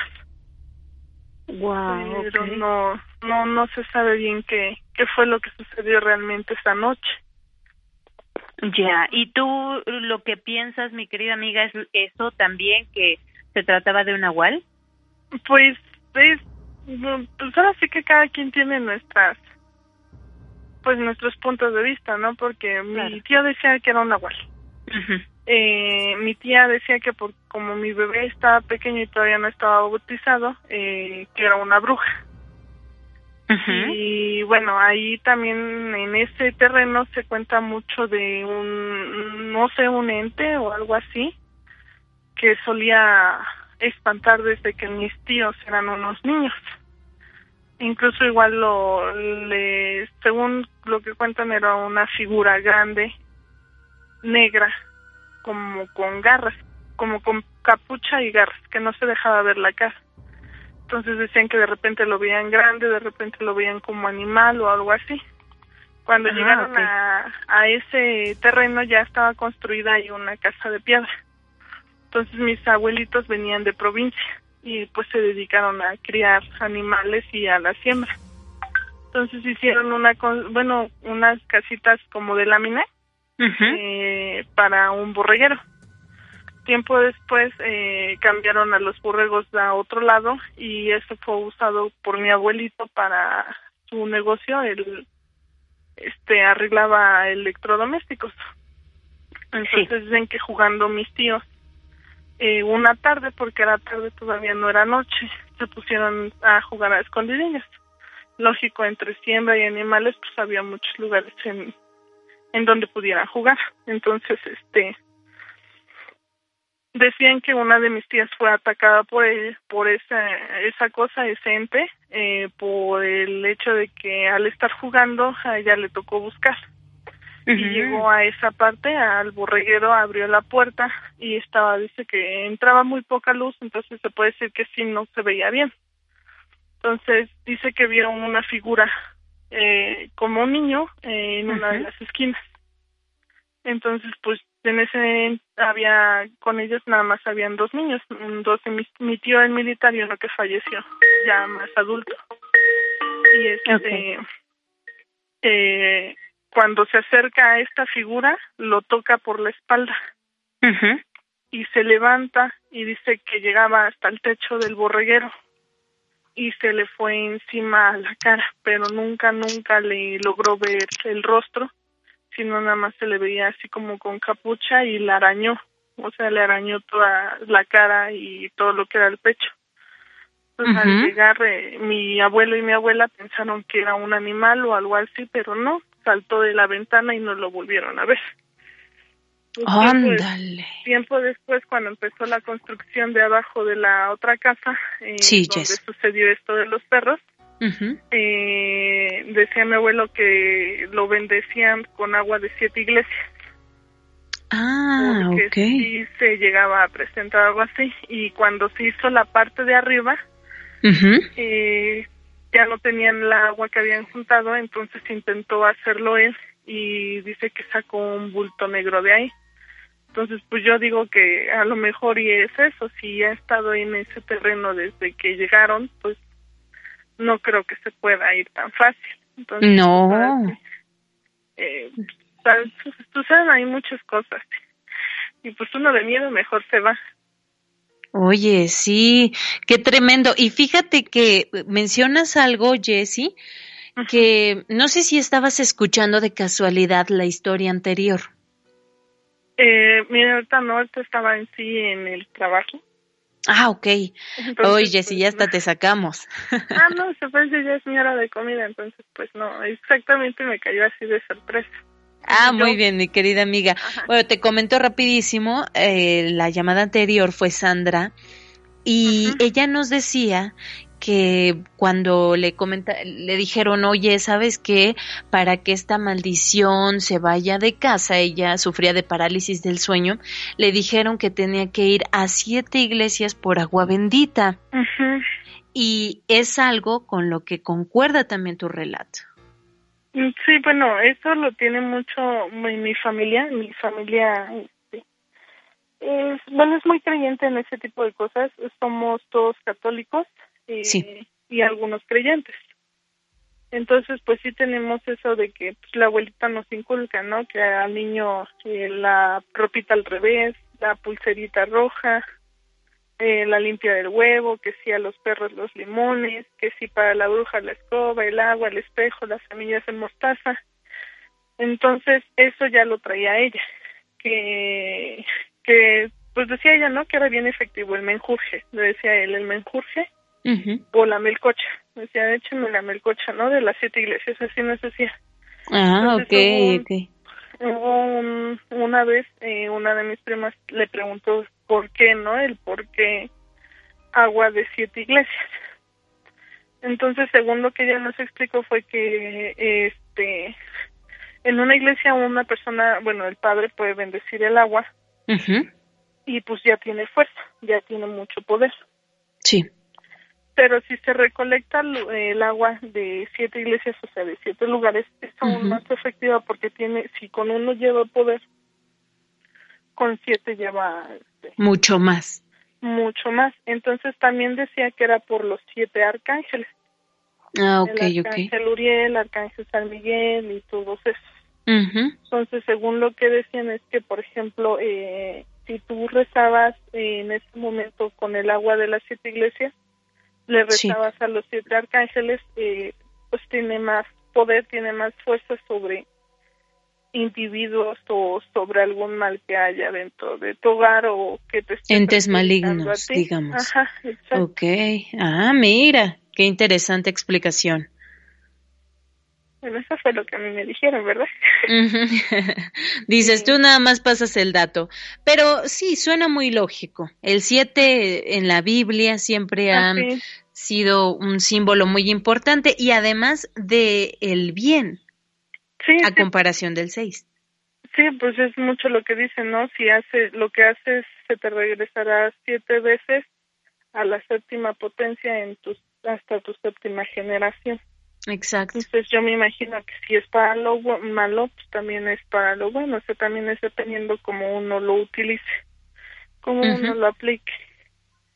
Wow, pero okay. no, no, no se sabe bien qué, qué fue lo que sucedió realmente esa noche. Ya, ¿y tú lo que piensas, mi querida amiga, es eso también, que se trataba de un nahual? Pues, es, pues ahora sí que cada quien tiene nuestras, pues nuestros puntos de vista, ¿no? Porque claro. Mi tío decía que era un nahual. Uh-huh. Eh, mi tía decía que por como mi bebé estaba pequeño y todavía no estaba bautizado, eh, que era una bruja. Uh-huh. Y bueno, ahí también en ese terreno se cuenta mucho de un, no sé, un ente o algo así, que solía espantar desde que mis tíos eran unos niños. Incluso igual lo, le, según lo que cuentan, era una figura grande, negra, como con garras, como con capucha y garras, que no se dejaba ver la cara. Entonces decían que de repente lo veían grande, de repente lo veían como animal o algo así. Cuando ah, llegaron okay. a, a ese terreno ya estaba construida ahí una casa de piedra. Entonces mis abuelitos venían de provincia y pues se dedicaron a criar animales y a la siembra. Entonces hicieron una, bueno, unas casitas como de lámina uh-huh. eh, para un borreguero. Tiempo después eh, cambiaron a los borregos a otro lado y eso fue usado por mi abuelito para su negocio. Él este arreglaba electrodomésticos. Entonces sí. Dicen que jugando mis tíos eh, una tarde, porque era tarde, todavía no era noche, se pusieron a jugar a escondidillas. Lógico, entre siembra y animales pues había muchos lugares en en donde pudieran jugar. Entonces este decían que una de mis tías fue atacada por él, por esa esa cosa, ese ente, eh, por el hecho de que al estar jugando a ella le tocó buscar. Uh-huh. Y llegó a esa parte, al borreguero, abrió la puerta y estaba, dice que entraba muy poca luz, entonces se puede decir que sí no se veía bien. Entonces dice que vio una figura eh, como un niño eh, en uh-huh. una de las esquinas. Entonces pues en ese había, con ellos nada más habían dos niños, dos de mi, mi tío el militar y uno que falleció, ya más adulto. y este okay. eh, cuando se acerca a esta figura lo toca por la espalda uh-huh. y se levanta y dice que llegaba hasta el techo del borreguero y se le fue encima a la cara, pero nunca, nunca le logró ver el rostro, sino nada más se le veía así como con capucha y la arañó, o sea, le arañó toda la cara y todo lo que era el pecho. Entonces, uh-huh. al llegar, eh, mi abuelo y mi abuela pensaron que era un animal o algo así, pero no, saltó de la ventana y no lo volvieron a ver. ¡Ándale! Tiempo, tiempo después, cuando empezó la construcción de abajo de la otra casa, eh, sí, donde yes. sucedió esto de los perros, uh-huh. eh, decía mi abuelo que lo bendecían con agua de siete iglesias. Ah, porque okay. sí se llegaba a presentar algo así, y cuando se hizo la parte de arriba, uh-huh. eh, ya no tenían la agua que habían juntado, entonces intentó hacerlo él, y dice que sacó un bulto negro de ahí. Entonces, pues yo digo que a lo mejor y es eso, si ha estado en ese terreno desde que llegaron, pues no creo que se pueda ir tan fácil. Entonces, no. Pues, eh, pues, tú sabes, hay muchas cosas. Y pues uno de miedo mejor se va. Oye, sí, qué tremendo. Y fíjate que mencionas algo, Jessie, uh-huh. que no sé si estabas escuchando de casualidad la historia anterior. Eh, mira, ahorita no, ahorita estaba en sí en el trabajo. Ah, ok. Entonces, oye, Jessie, pues, ya hasta no. te sacamos. Ah, no, se parece ya es mi hora de comida, entonces pues no, exactamente me cayó así de sorpresa. Ah, muy bien, mi querida amiga. Ajá. Bueno, te comento rapidísimo, eh, la llamada anterior fue Sandra y uh-huh. ella nos decía que cuando le comenta, le dijeron, oye, ¿sabes qué? Para que esta maldición se vaya de casa, ella sufría de parálisis del sueño, le dijeron que tenía que ir a siete iglesias por agua bendita. Uh-huh. Y es algo con lo que concuerda también tu relato. Sí, bueno, eso lo tiene mucho mi, mi familia, mi familia este, es, bueno, es muy creyente en ese tipo de cosas, somos todos católicos eh, sí. y algunos creyentes. Entonces, pues sí tenemos eso de que pues, la abuelita nos inculca, ¿no? Que al niño eh, la ropita al revés, la pulserita roja, eh, la limpia del huevo, que sí a los perros los limones, que sí para la bruja la escoba, el agua, el espejo, las semillas de mostaza. Entonces, eso ya lo traía ella, que, que pues decía ella, ¿no? Que era bien efectivo el menjurje, le decía él, el menjurje uh-huh. o la melcocha, decía, échenme la melcocha, ¿no? De las siete iglesias, así nos decía. Ah, Entonces, ok, hubo un, ok. Hubo un, una vez, eh, una de mis primas le preguntó por qué, ¿no? El por qué agua de siete iglesias. Entonces, según lo que ella nos explicó fue que, este, en una iglesia una persona, bueno, el padre puede bendecir el agua uh-huh. y pues ya tiene fuerza, ya tiene mucho poder. Sí. Pero si se recolecta el agua de siete iglesias, o sea, de siete lugares, es aún uh-huh. más efectiva porque tiene, si con uno lleva poder, con siete lleva... Este, mucho más. Mucho más. Entonces también decía que era por los siete arcángeles. Ah, ok, el arcángel ok. Uriel, el arcángel San Miguel y todos esos. Uh-huh. Entonces, según lo que decían es que, por ejemplo, eh, si tú rezabas eh, en ese momento con el agua de las siete iglesias, le rezabas sí. a los siete arcángeles, eh, pues tiene más poder, tiene más fuerza sobre individuos o sobre algún mal que haya dentro de tu hogar o que te esté entes malignos, digamos. Ajá, exacto. Okay. Ah, mira, qué interesante explicación. Bueno, eso fue lo que a mí me dijeron, ¿verdad? Dices, sí. tú nada más pasas el dato. Pero sí, suena muy lógico. El siete en la Biblia siempre ha Así. sido un símbolo muy importante y además de el bien, sí, a sí. comparación del seis. Sí, pues es mucho lo que dicen, ¿no? Si hace, lo que haces se te regresará siete veces a la séptima potencia en tus, hasta tu séptima generación. Exacto. Entonces yo me imagino que si es para lo malo, pues también es para lo bueno, o sea, también es dependiendo cómo uno lo utilice, cómo uh-huh. uno lo aplique.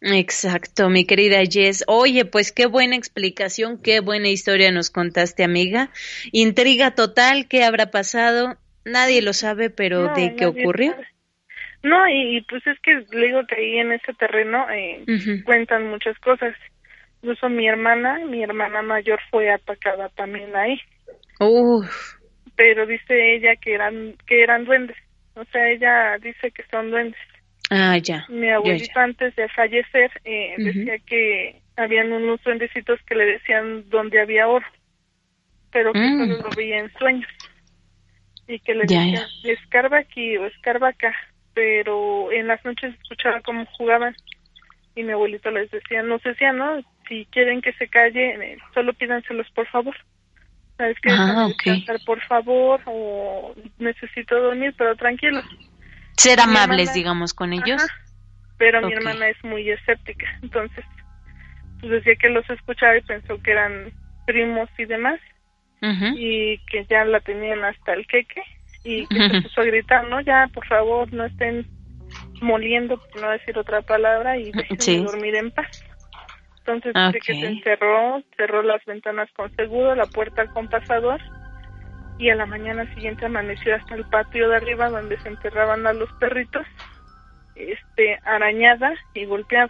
Exacto, mi querida Jess. Oye, pues qué buena explicación, qué buena historia nos contaste, amiga. Intriga total, ¿qué habrá pasado? Nadie lo sabe, pero No, ¿de qué nadie ocurrió? sabe. No, y, y pues es que le digo que ahí en ese terreno eh, Ujú. cuentan muchas cosas. Incluso mi hermana, mi hermana mayor fue atacada también ahí. Uf, Pero dice ella que eran que eran duendes. O sea, ella dice que son duendes. ah, ya. Mi ya, abuelito ya. antes de fallecer eh, Ujú. decía que habían unos duendecitos que le decían donde había oro, pero que Mm. solo lo veía en sueños. Y que le Ya, decían, escarba aquí o escarba acá, pero en las noches escuchaba cómo jugaban. Y mi abuelito les decía, nos decía, ¿no? Si quieren que se calle, eh, solo pídanselos por favor. ¿Sabes qué? Ah, Déjame ok. descansar, por favor, o necesito dormir, pero tranquilos. Ser Mi amables, hermana- digamos, con ellos. Ajá. Pero mi Ok. hermana es muy escéptica, entonces pues decía que los escuchaba y pensó que eran primos y demás, Ujú. y que ya la tenían hasta el queque, y que se puso a gritar, no, ya, por favor, no estén moliendo, por no decir otra palabra, y déjenme Sí. dormir en paz. Entonces dice que Ok. se encerró, cerró las ventanas con seguro, la puerta con pasador, y a la mañana siguiente amaneció hasta el patio de arriba donde se enterraban a los perritos, este, arañada y golpeada.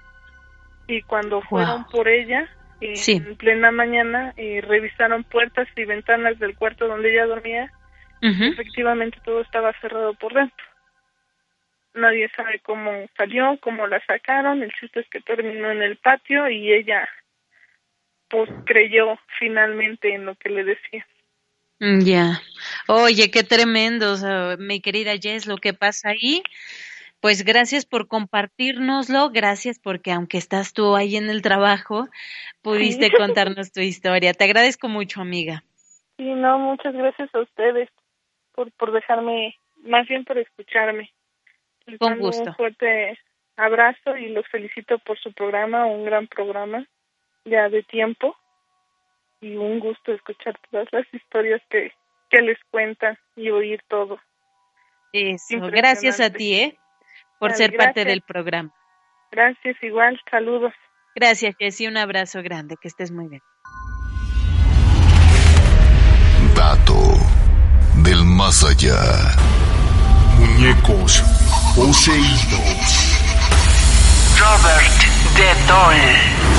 Y cuando fueron Wow. por ella, eh, Sí. en plena mañana, eh, revisaron puertas y ventanas del cuarto donde ella dormía. Ujú. Efectivamente todo estaba cerrado por dentro. Nadie sabe cómo salió, cómo la sacaron. El chiste es que terminó en el patio y ella pues creyó finalmente en lo que le decía. Mm, ya. Oye, qué tremendo, o sea, mi querida Jess, lo que pasa ahí. Pues gracias por compartirnoslo, gracias porque aunque estás tú ahí en el trabajo, pudiste Sí. contarnos tu historia. Te agradezco mucho, amiga. Sí, no, muchas gracias a ustedes por, por dejarme, más bien por escucharme. Les Con mando gusto. un fuerte abrazo y los felicito por su programa, un gran programa ya de tiempo, y un gusto escuchar todas las historias que, que les cuentan y oír todo. Eso, Impresionante. gracias a ti, ¿eh? Por Vale, ser parte gracias. del programa. Gracias, igual, saludos. Gracias, Jessie, un abrazo grande, que estés muy bien. Dato del más allá. Muñecos poseídos. Robert de Dole.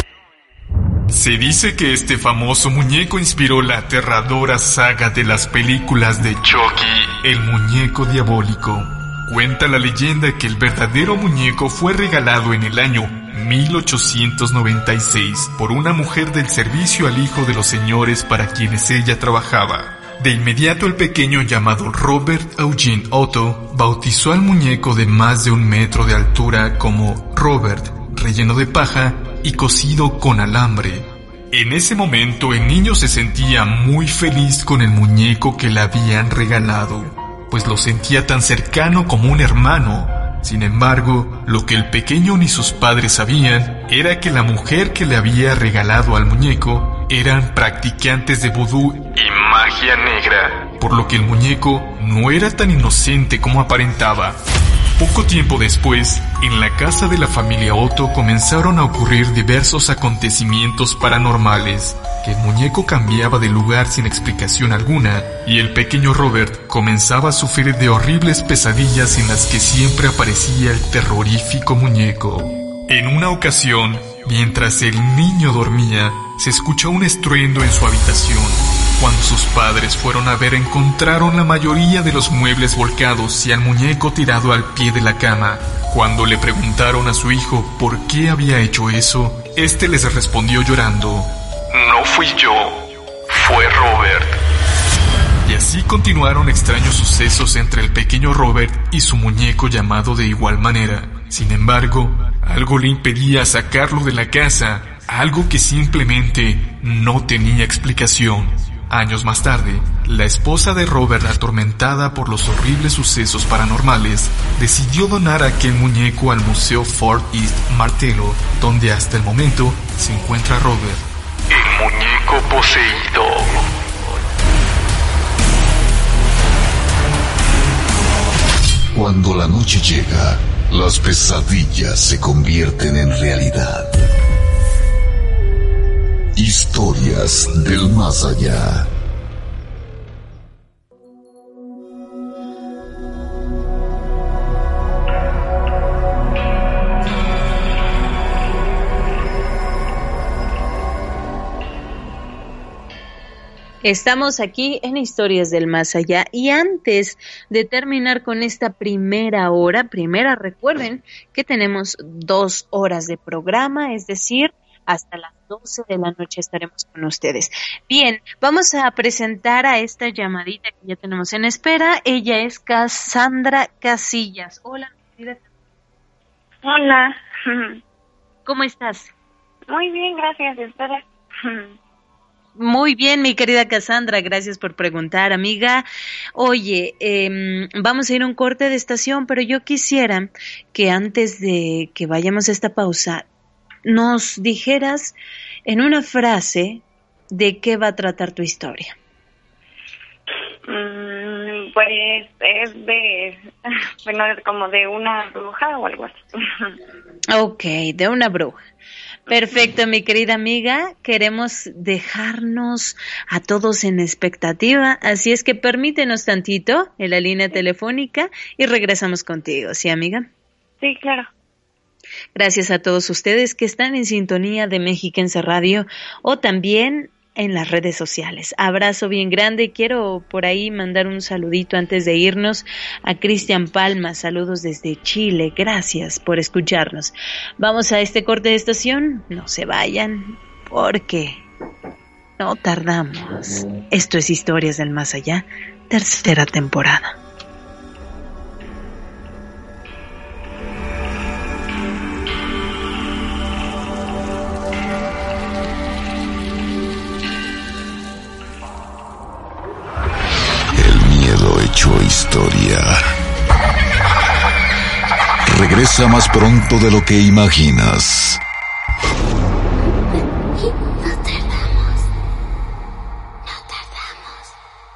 Se dice que este famoso muñeco inspiró la aterradora saga de las películas de Chucky, el muñeco diabólico. Cuenta la leyenda que el verdadero muñeco fue regalado en el año mil ochocientos noventa y seis por una mujer del servicio al hijo de los señores para quienes ella trabajaba. De inmediato el pequeño llamado Robert Eugene Otto bautizó al muñeco de más de un metro de altura como Robert, relleno de paja y cosido con alambre. En ese momento el niño se sentía muy feliz con el muñeco que le habían regalado, pues lo sentía tan cercano como un hermano. Sin embargo, lo que el pequeño ni sus padres sabían era que la mujer que le había regalado al muñeco eran practicantes de vudú y magia negra, por lo que el muñeco no era tan inocente como aparentaba. Poco tiempo después, en la casa de la familia Otto comenzaron a ocurrir diversos acontecimientos paranormales, que el muñeco cambiaba de lugar sin explicación alguna, y el pequeño Robert comenzaba a sufrir de horribles pesadillas en las que siempre aparecía el terrorífico muñeco. En una ocasión, mientras el niño dormía, se escuchó un estruendo en su habitación. Cuando sus padres fueron a ver, encontraron la mayoría de los muebles volcados y al muñeco tirado al pie de la cama. Cuando le preguntaron a su hijo por qué había hecho eso, este les respondió llorando: "No fui yo, fue Robert". Y así continuaron extraños sucesos entre el pequeño Robert y su muñeco llamado de igual manera. Sin embargo, algo le impedía sacarlo de la casa, algo que simplemente no tenía explicación. Años más tarde, la esposa de Robert, atormentada por los horribles sucesos paranormales, decidió donar aquel muñeco al Museo Fort East Martello, donde hasta el momento se encuentra Robert, el muñeco poseído. Cuando la noche llega, las pesadillas se convierten en realidad. Historias del más allá. Estamos aquí en Historias del Más Allá y antes de terminar con esta primera hora, primera recuerden que tenemos dos horas de programa, es decir, hasta las doce de la noche estaremos con ustedes. Bien, vamos a presentar a esta llamadita que ya tenemos en espera. Ella es Cassandra Casillas. Hola, mi querida. Hola. ¿Cómo estás? Muy bien, gracias. ¿Ustedes? Muy bien, mi querida Cassandra, gracias por preguntar, amiga. Oye, eh, vamos a ir a un corte de estación, pero yo quisiera que antes de que vayamos a esta pausa, nos dijeras en una frase de qué va a tratar tu historia. Mm, pues es de, bueno, como de una bruja o algo así. Ok, de una bruja. Perfecto, mi querida amiga, queremos dejarnos a todos en expectativa, así es que permítenos tantito en la línea telefónica y regresamos contigo, ¿sí, amiga? Sí, claro. Gracias a todos ustedes que están en sintonía de Mexiquense Radio o también en las redes sociales. Abrazo bien grande. Quiero por ahí mandar un saludito antes de irnos a Cristian Palma. Saludos desde Chile. Gracias por escucharnos. Vamos a este corte de estación. No se vayan porque no tardamos. Esto es Historias del Más Allá, tercera temporada. Hecho historia. Regresa más pronto de lo que imaginas. No tardamos. No tardamos.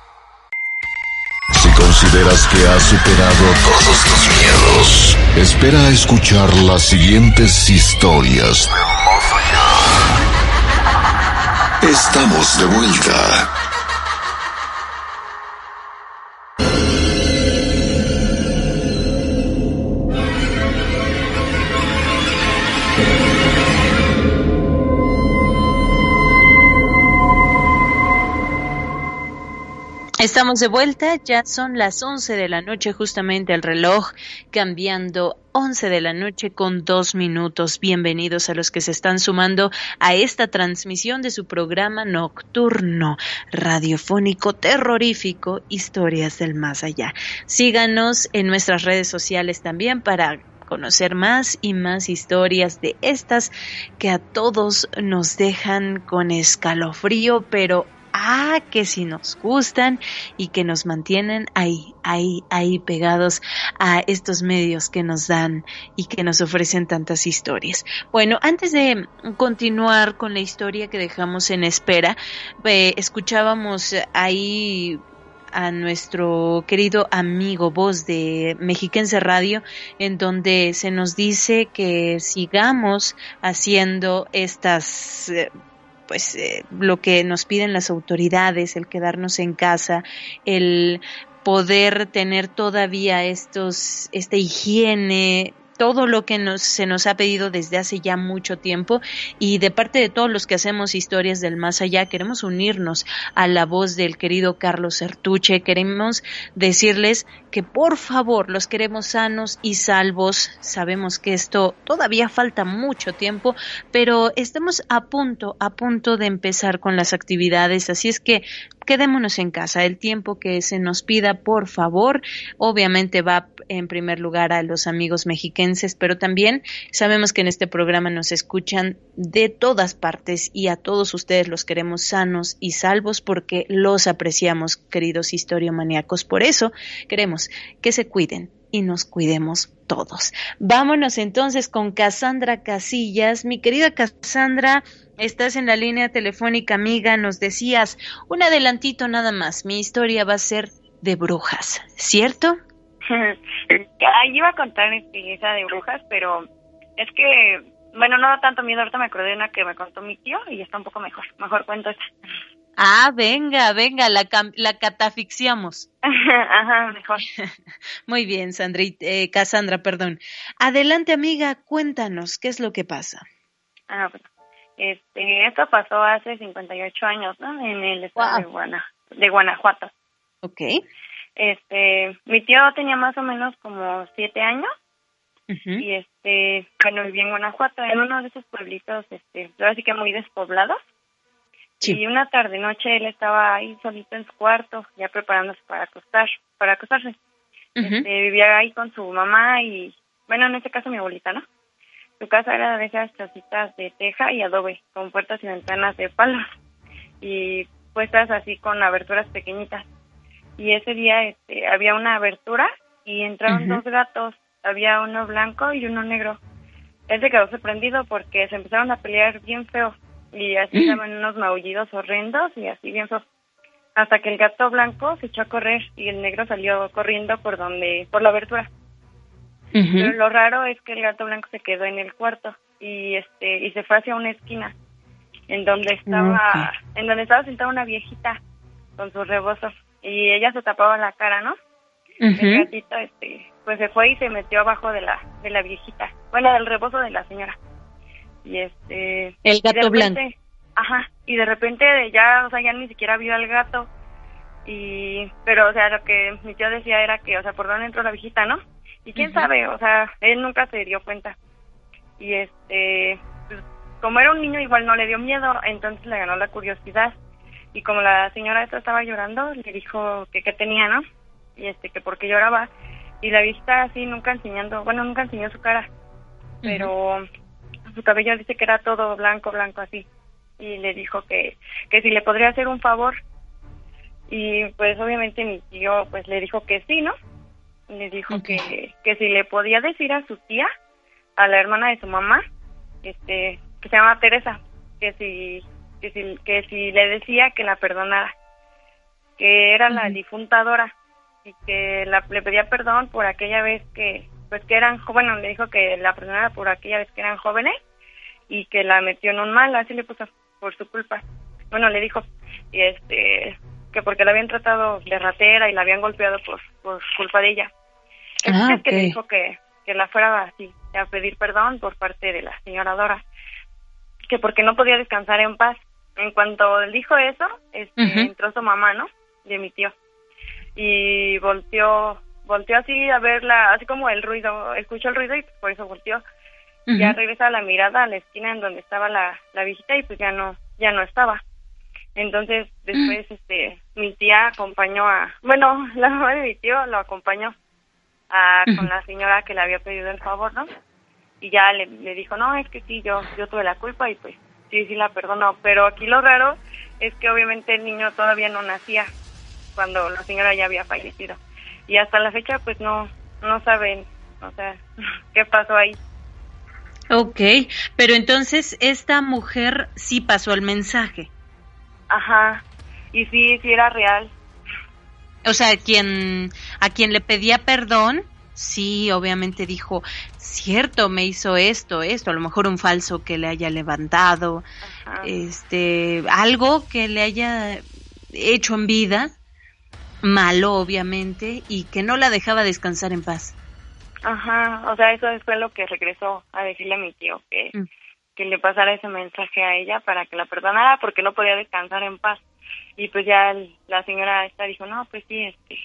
Si consideras que has superado todos tus miedos, espera a escuchar las siguientes historias. Estamos de vuelta. Estamos de vuelta, ya son las once de la noche, justamente el reloj cambiando once de la noche con dos minutos. Bienvenidos a los que se están sumando a esta transmisión de su programa nocturno, radiofónico, terrorífico, Historias del Más Allá. Síganos en nuestras redes sociales también para conocer más y más historias de estas que a todos nos dejan con escalofrío, pero Ah, que si nos gustan y que nos mantienen ahí, ahí, ahí pegados a estos medios que nos dan y que nos ofrecen tantas historias. Bueno, antes de continuar con la historia que dejamos en espera, eh, escuchábamos ahí a nuestro querido amigo Voz de Mexiquense Radio, en donde se nos dice que sigamos haciendo estas eh, pues eh, lo que nos piden las autoridades, el quedarnos en casa, el poder tener todavía estos, esta higiene, todo lo que nos, se nos ha pedido desde hace ya mucho tiempo, y de parte de todos los que hacemos Historias del Más Allá, queremos unirnos a la voz del querido Carlos Sertuche. Queremos decirles que por favor los queremos sanos y salvos. Sabemos que esto todavía falta mucho tiempo, pero estamos a punto, a punto de empezar con las actividades, así es que quedémonos en casa el tiempo que se nos pida, por favor. Obviamente va en primer lugar a los amigos mexiquenses, pero también sabemos que en este programa nos escuchan de todas partes y a todos ustedes los queremos sanos y salvos porque los apreciamos, queridos historiomaníacos. Por eso queremos que se cuiden y nos cuidemos todos. Vámonos entonces con Cassandra Casillas. Mi querida Cassandra, estás en la línea telefónica, amiga. Nos decías un adelantito nada más. Mi historia va a ser de brujas, ¿cierto? Ahí iba a contar este, esa de brujas, pero es que, bueno, no da tanto miedo. Ahorita me acordé de una que me contó mi tío y está un poco mejor. Mejor cuento esta. Ah, venga, venga, la, cam- la catafixiamos. Ajá, mejor. Muy bien, Sandri, eh, Cassandra, perdón. Adelante, amiga, cuéntanos, ¿qué es lo que pasa? Ah, bueno. Este, esto pasó hace cincuenta y ocho años, ¿no? En el estado Wow. de, Guana, de Guanajuato. Ok. Este, mi tío tenía más o menos como siete años. Uh-huh. Y este, bueno, vivía en Guanajuato, en uno de esos pueblitos, este, ahora sí que muy despoblados. Sí. Y una tarde noche él estaba ahí solito en su cuarto, ya preparándose para acostar, para acostarse. Uh-huh. Este, vivía ahí con su mamá y, bueno, en este caso mi abuelita, ¿no? Su casa era de esas casitas de teja y adobe, con puertas y ventanas de palos y puestas así con aberturas pequeñitas. Y ese día este, había una abertura y entraron uh-huh. dos gatos, había uno blanco y uno negro. Él se quedó sorprendido porque se empezaron a pelear bien feo y así daban unos maullidos horrendos y así bien feo. Hasta que el gato blanco se echó a correr y el negro salió corriendo por donde, por la abertura. Uh-huh. Pero lo raro es que el gato blanco se quedó en el cuarto y este y se fue hacia una esquina en donde estaba okay. en donde estaba sentada una viejita con su rebozo y ella se tapaba la cara, ¿no? Uh-huh. El gatito este pues se fue y se metió abajo de la de la viejita, bueno, del rebozo de la señora. Y este el gato repente, blanco. Ajá, y de repente ya, o sea, ya ni siquiera vio al gato. Y pero o sea, lo que mi tío decía era que, o sea, por dónde entró la viejita, ¿no? Y quién uh-huh. sabe, o sea, él nunca se dio cuenta. Y este, pues, como era un niño igual no le dio miedo, entonces le ganó la curiosidad. Y como la señora esta estaba llorando, le dijo que qué tenía, ¿no? Y este, que por qué lloraba. Y la viejita así nunca enseñando, bueno, nunca enseñó su cara. Pero uh-huh. su cabello dice que era todo blanco, blanco así. Y le dijo que, que si le podría hacer un favor. Y pues obviamente mi tío pues le dijo que sí, ¿no? Le dijo okay. que, que si le podía decir a su tía, a la hermana de su mamá, este, que se llama Teresa, que si, que si, que si le decía que la perdonara, que era uh-huh. la difunta Dora, y que la, le pedía perdón por aquella vez que, pues que eran, bueno, le dijo que la perdonara por aquella vez que eran jóvenes, y que la metió en un mal, así le puso, por su culpa. Bueno, le dijo, y este, que porque la habían tratado de ratera y la habían golpeado por, por culpa de ella. Ah, es que okay. le dijo que, que la fuera así, a pedir perdón por parte de la señora Dora, que porque no podía descansar en paz. En cuanto él dijo eso, este, uh-huh. entró su mamá, ¿no? De mi tío. Y volteó, volteó así a verla, así como el ruido, escuchó el ruido y por eso volteó. Uh-huh. Ya regresa la mirada a la esquina en donde estaba la, la viejita y pues ya no, ya no estaba. Entonces después uh-huh. este, mi tía acompañó a, bueno, la mamá de mi tío lo acompañó a, uh-huh. con la señora que le había pedido el favor, ¿no? Y ya le, le dijo, no, es que sí, yo, yo tuve la culpa y pues sí, sí la perdonó. Pero aquí lo raro es que obviamente el niño todavía no nacía cuando la señora ya había fallecido. Y hasta la fecha pues no, no saben, o sea, qué pasó ahí. Ok, pero entonces esta mujer sí pasó el mensaje. Ajá, y sí, sí era real. O sea, quien, a quien le pedía perdón, sí, obviamente dijo, cierto, me hizo esto, esto, a lo mejor un falso que le haya levantado, ajá. este, algo que le haya hecho en vida, malo obviamente, y que no la dejaba descansar en paz. Ajá, o sea, eso fue lo que regresó a decirle a mi tío, que, mm. que le pasara ese mensaje a ella para que la perdonara porque no podía descansar en paz. Y pues ya la señora esta dijo, no, pues sí, este,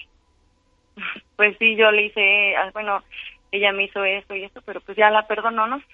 pues sí, yo le hice, bueno, ella me hizo esto y esto, pero pues ya la perdonó, ¿no?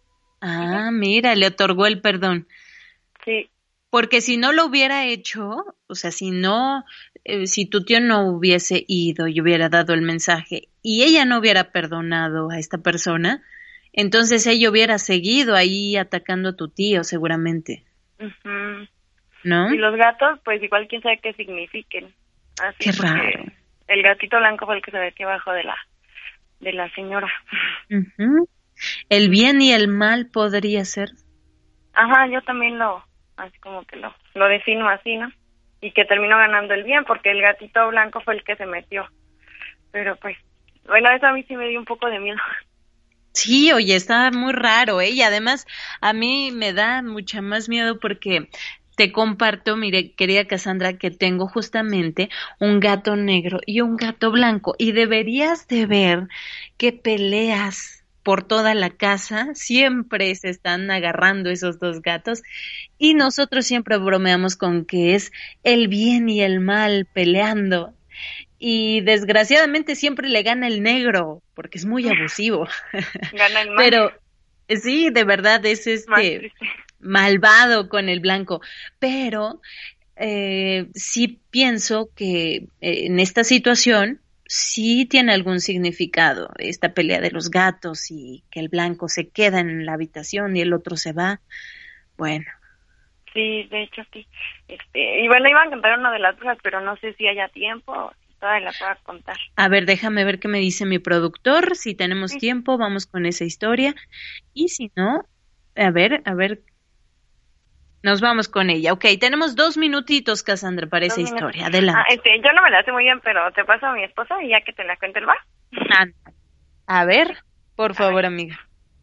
Ah, mira, le otorgó el perdón. Sí. Porque si no lo hubiera hecho, o sea, si no, eh, si tu tío no hubiese ido y hubiera dado el mensaje y ella no hubiera perdonado a esta persona, entonces ella hubiera seguido ahí atacando a tu tío seguramente. Uh-huh. ¿No? Y los gatos, pues igual quién sabe qué signifiquen. Así qué raro. El gatito blanco fue el que se metió abajo de la, de la señora. Uh-huh. El bien y el mal podría ser. Ajá, yo también lo, así como que lo, lo defino así, ¿no? Y que terminó ganando el bien porque el gatito blanco fue el que se metió. Pero pues, bueno, eso a mí sí me dio un poco de miedo. Sí, oye, está muy raro, ¿eh? Y además a mí me da mucha más miedo porque te comparto, mire, querida Cassandra, que tengo justamente un gato negro y un gato blanco y deberías de ver qué peleas por toda la casa, siempre se están agarrando esos dos gatos y nosotros siempre bromeamos con que es el bien y el mal peleando. Y desgraciadamente siempre le gana el negro, porque es muy abusivo. Gana el mal. Pero sí, de verdad es este malvado con el blanco. Pero eh, sí pienso que eh, en esta situación sí tiene algún significado, esta pelea de los gatos y que el blanco se queda en la habitación y el otro se va. Bueno. Sí, de hecho sí. Este, y bueno, iban a contar una de las cosas, pero no sé si haya tiempo. La puedo contar. A ver, déjame ver qué me dice mi productor. Si tenemos sí. tiempo, vamos con esa historia. Y si no, a ver, a ver, nos vamos con ella. Ok, tenemos dos minutitos, Cassandra, para dos esa minutos. historia. Adelante. Ah, este, yo no me la sé muy bien, pero te paso a mi esposa y ya que te la cuente el bar. Ah, a ver, por favor, amiga.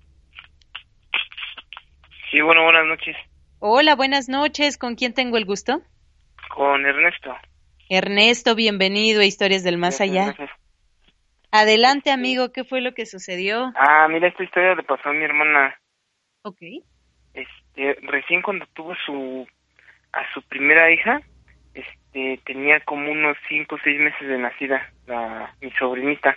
Sí, bueno, buenas noches. Hola, buenas noches. ¿Con quién tengo el gusto? Con Ernesto. Ernesto, bienvenido a Historias del Más Allá. Gracias. Adelante, amigo, ¿qué fue lo que sucedió? Ah, mira, esta historia le pasó a mi hermana. Ok. Este, recién cuando tuvo su a su primera hija, este, tenía como unos cinco o seis meses de nacida, la mi sobrinita.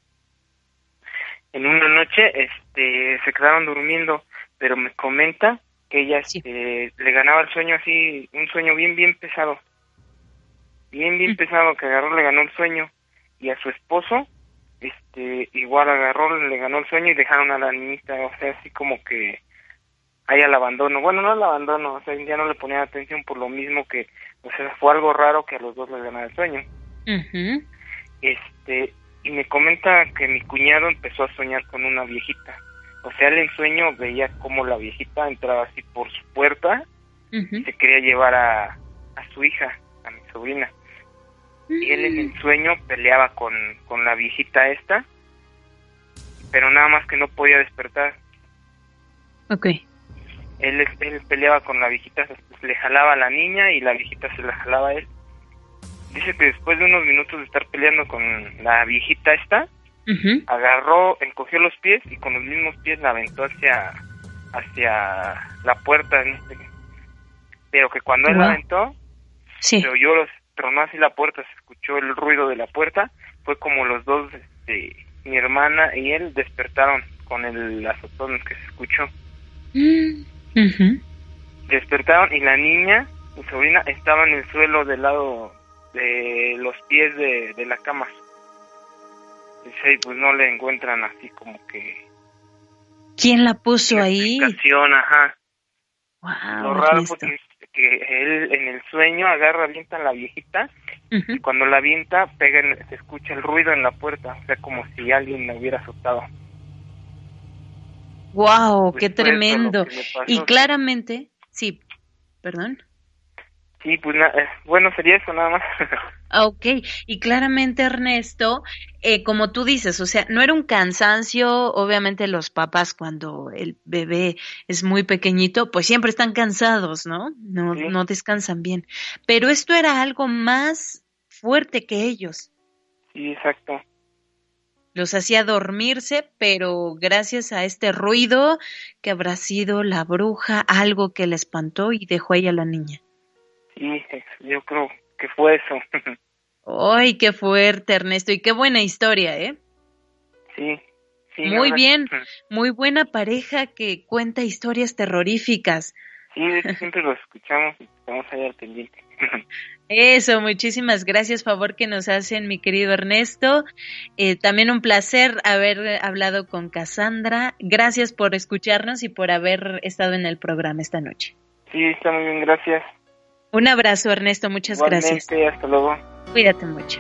En una noche, este, se quedaron durmiendo, pero me comenta que ella, sí. este, le ganaba el sueño así, un sueño bien, bien pesado. bien, bien pesado, que agarró, le ganó el sueño, y a su esposo, este, igual agarró, le ganó el sueño y dejaron a la niñita, o sea, así como que ahí al abandono, bueno, no al abandono, o sea, ya no le ponían atención por lo mismo que, o sea, fue algo raro que a los dos les ganara el sueño. Uh-huh. Este, y me comenta que mi cuñado empezó a soñar con una viejita, o sea, él en sueño veía como la viejita entraba así por su puerta, uh-huh. y se quería llevar a, a su hija, a mi sobrina. Y él en el sueño peleaba con, con la viejita esta, pero nada más que no podía despertar. Ok. Él, él peleaba con la viejita, le jalaba a la niña y la viejita se la jalaba a él. Dice que después de unos minutos de estar peleando con la viejita esta, uh-huh. agarró, encogió los pies y con los mismos pies la aventó hacia, hacia la puerta. Pero que cuando wow. él la aventó, sí. se oyó los tronó así la puerta, se escuchó el ruido de la puerta, fue como los dos, este, mi hermana y él despertaron con el azotón que se escuchó. Uh-huh. Despertaron y la niña, mi sobrina, estaba en el suelo del lado de los pies de, de la cama. Dice, pues no le encuentran así como que... ¿Quién la puso ahí? Ajá. Wow, Lo raro fue que que él en el sueño agarra, avienta a la viejita, uh-huh. y cuando la avienta, pega en, se escucha el ruido en la puerta, o sea, como si alguien la hubiera azotado. ¡Wow! Pues ¡qué tremendo! Y claramente, sí, perdón. Sí, pues na- bueno, sería eso nada más. Ok, y claramente, Ernesto, eh, como tú dices, o sea, no era un cansancio, obviamente los papás cuando el bebé es muy pequeñito, pues siempre están cansados, ¿no? No, sí. no descansan bien, pero esto era algo más fuerte que ellos. Sí, exacto. Los hacía dormirse, pero gracias a este ruido que habrá sido la bruja, algo que le espantó y dejó ahí a la niña. Sí, yo creo que fue eso. ¡Ay, qué fuerte, Ernesto! Y qué buena historia, ¿eh? Sí. sí muy bien, muy buena pareja que cuenta historias terroríficas. Sí, siempre los escuchamos y estamos ahí al pendiente. Eso, muchísimas gracias, favor que nos hacen, mi querido Ernesto. Eh, también un placer haber hablado con Cassandra. Gracias por escucharnos y por haber estado en el programa esta noche. Sí, está muy bien, gracias. Un abrazo, Ernesto, muchas Igualmente, gracias. Hasta luego. Cuídate mucho.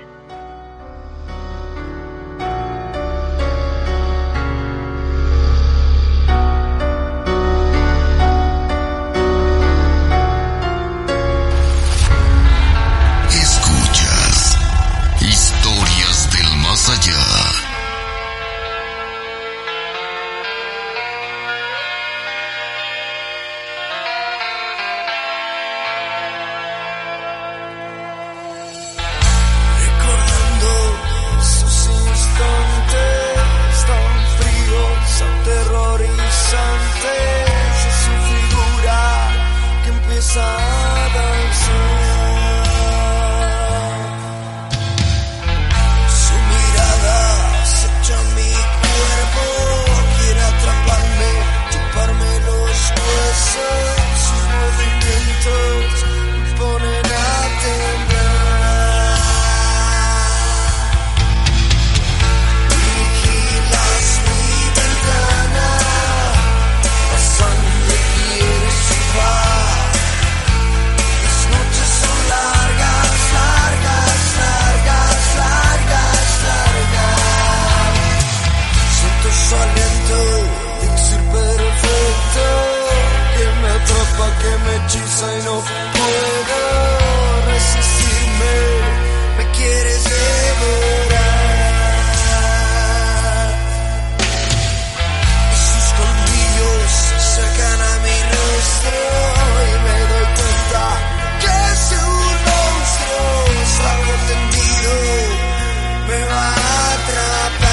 Escuchas Historias del Más Allá hierba que me hechiza y no puedo resistirme. Me quieres devorar y sus colmillos sacan a mi rostro y me doy cuenta que es un monstruo. Salgo tendido, me va a atrapar.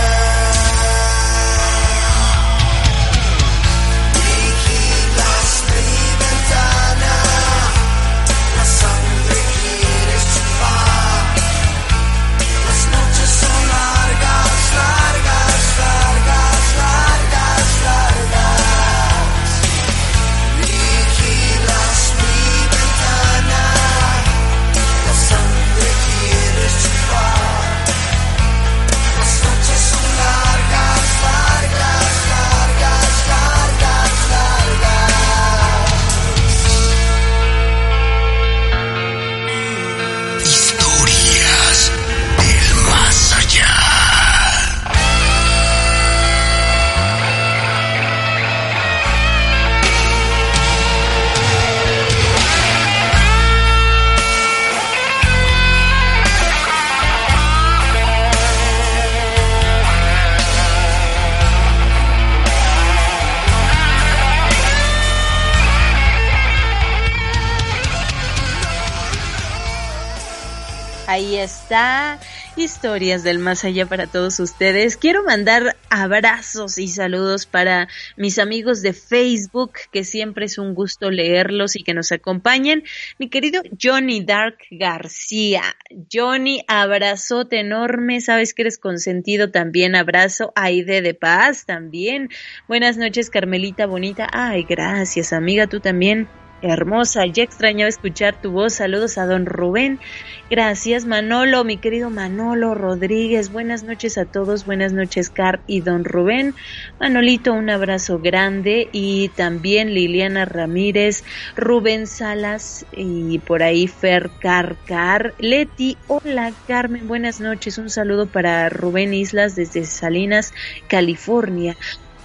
Ahí está, historias del más allá para todos ustedes. Quiero mandar abrazos y saludos para mis amigos de Facebook, que siempre es un gusto leerlos y que nos acompañen. Mi querido Johnny Dark García. Johnny, abrazote enorme, sabes que eres consentido también, abrazo. Aide de Paz también. Buenas noches, Carmelita bonita. Ay, gracias, amiga, tú también. Hermosa, ya extrañaba escuchar tu voz. Saludos a don Rubén. Gracias, Manolo, mi querido Manolo Rodríguez. Buenas noches a todos. Buenas noches, Car y don Rubén. Manolito, un abrazo grande. Y también Liliana Ramírez, Rubén Salas y por ahí Fer Carcar. Leti, hola Carmen, buenas noches. Un saludo para Rubén Islas desde Salinas, California.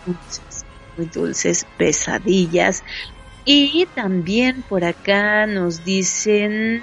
Muy dulces pesadillas. Y también por acá nos dicen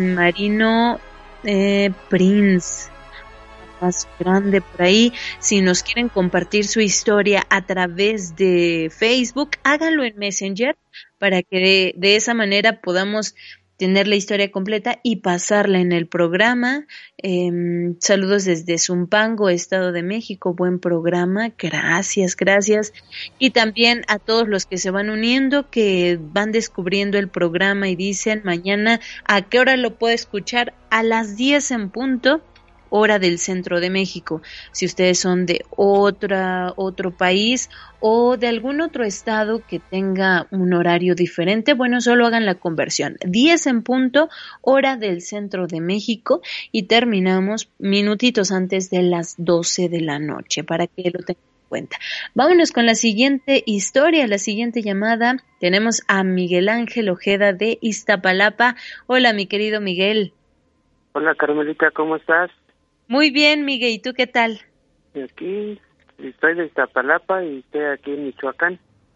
Marino eh, Prince, más grande por ahí. Si nos quieren compartir su historia a través de Facebook, háganlo en Messenger para que de, de esa manera podamos tener la historia completa y pasarla en el programa. Eh, saludos desde Zumpango, Estado de México, buen programa, gracias, gracias. Y también a todos los que se van uniendo, que van descubriendo el programa y dicen mañana a qué hora lo puedo escuchar, a las diez en punto, hora del centro de México. Si ustedes son de otra, otro país o de algún otro estado que tenga un horario diferente, bueno, solo hagan la conversión. diez en punto, hora del centro de México, y terminamos minutitos antes de las doce de la noche, para que lo tengan en cuenta. Vámonos con la siguiente historia, la siguiente llamada. Tenemos a Miguel Ángel Ojeda de Iztapalapa. Hola, mi querido Miguel. Hola, Carmelita, ¿cómo estás? Muy bien, Miguel, ¿y tú qué tal? Aquí estoy de Iztapalapa y estoy aquí en Michoacán.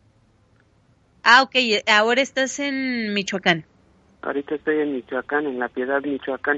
Ah, ok, ahora estás en Michoacán. Ahorita estoy en Michoacán, en La Piedad, Michoacán.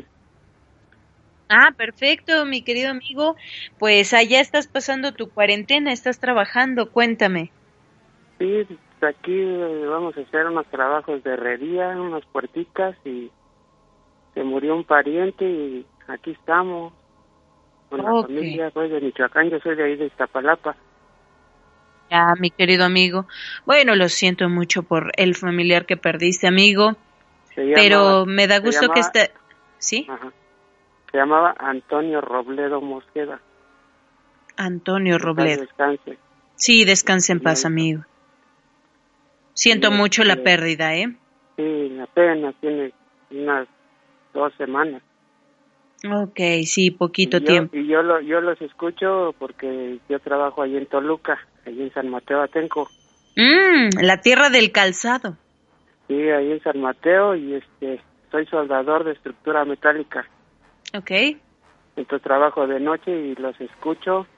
Ah, perfecto, mi querido amigo. Pues allá estás pasando tu cuarentena, estás trabajando, cuéntame. Sí, aquí vamos a hacer unos trabajos de herrería, unas puertitas, y se murió un pariente y aquí estamos. Con la okay. familia, soy de Michoacán, yo soy de ahí de Iztapalapa. Ya, mi querido amigo. Bueno, lo siento mucho por el familiar que perdiste, amigo. Llamaba, pero me da gusto llamaba, que esté... ¿Sí? Ajá. Se llamaba Antonio Robledo Mosqueda. Antonio Robledo. Descanse. Sí, descanse en paz, amigo. Siento sí, mucho sí, la pérdida, ¿eh? Sí, apenas tiene unas dos semanas. Ok, sí, poquito y yo, tiempo. Y yo, lo, yo los escucho porque yo trabajo allí en Toluca, allí en San Mateo Atenco. Mm, la tierra del calzado. Sí, ahí en San Mateo, y este, soy soldador de estructura metálica. Ok. Entonces trabajo de noche y los escucho.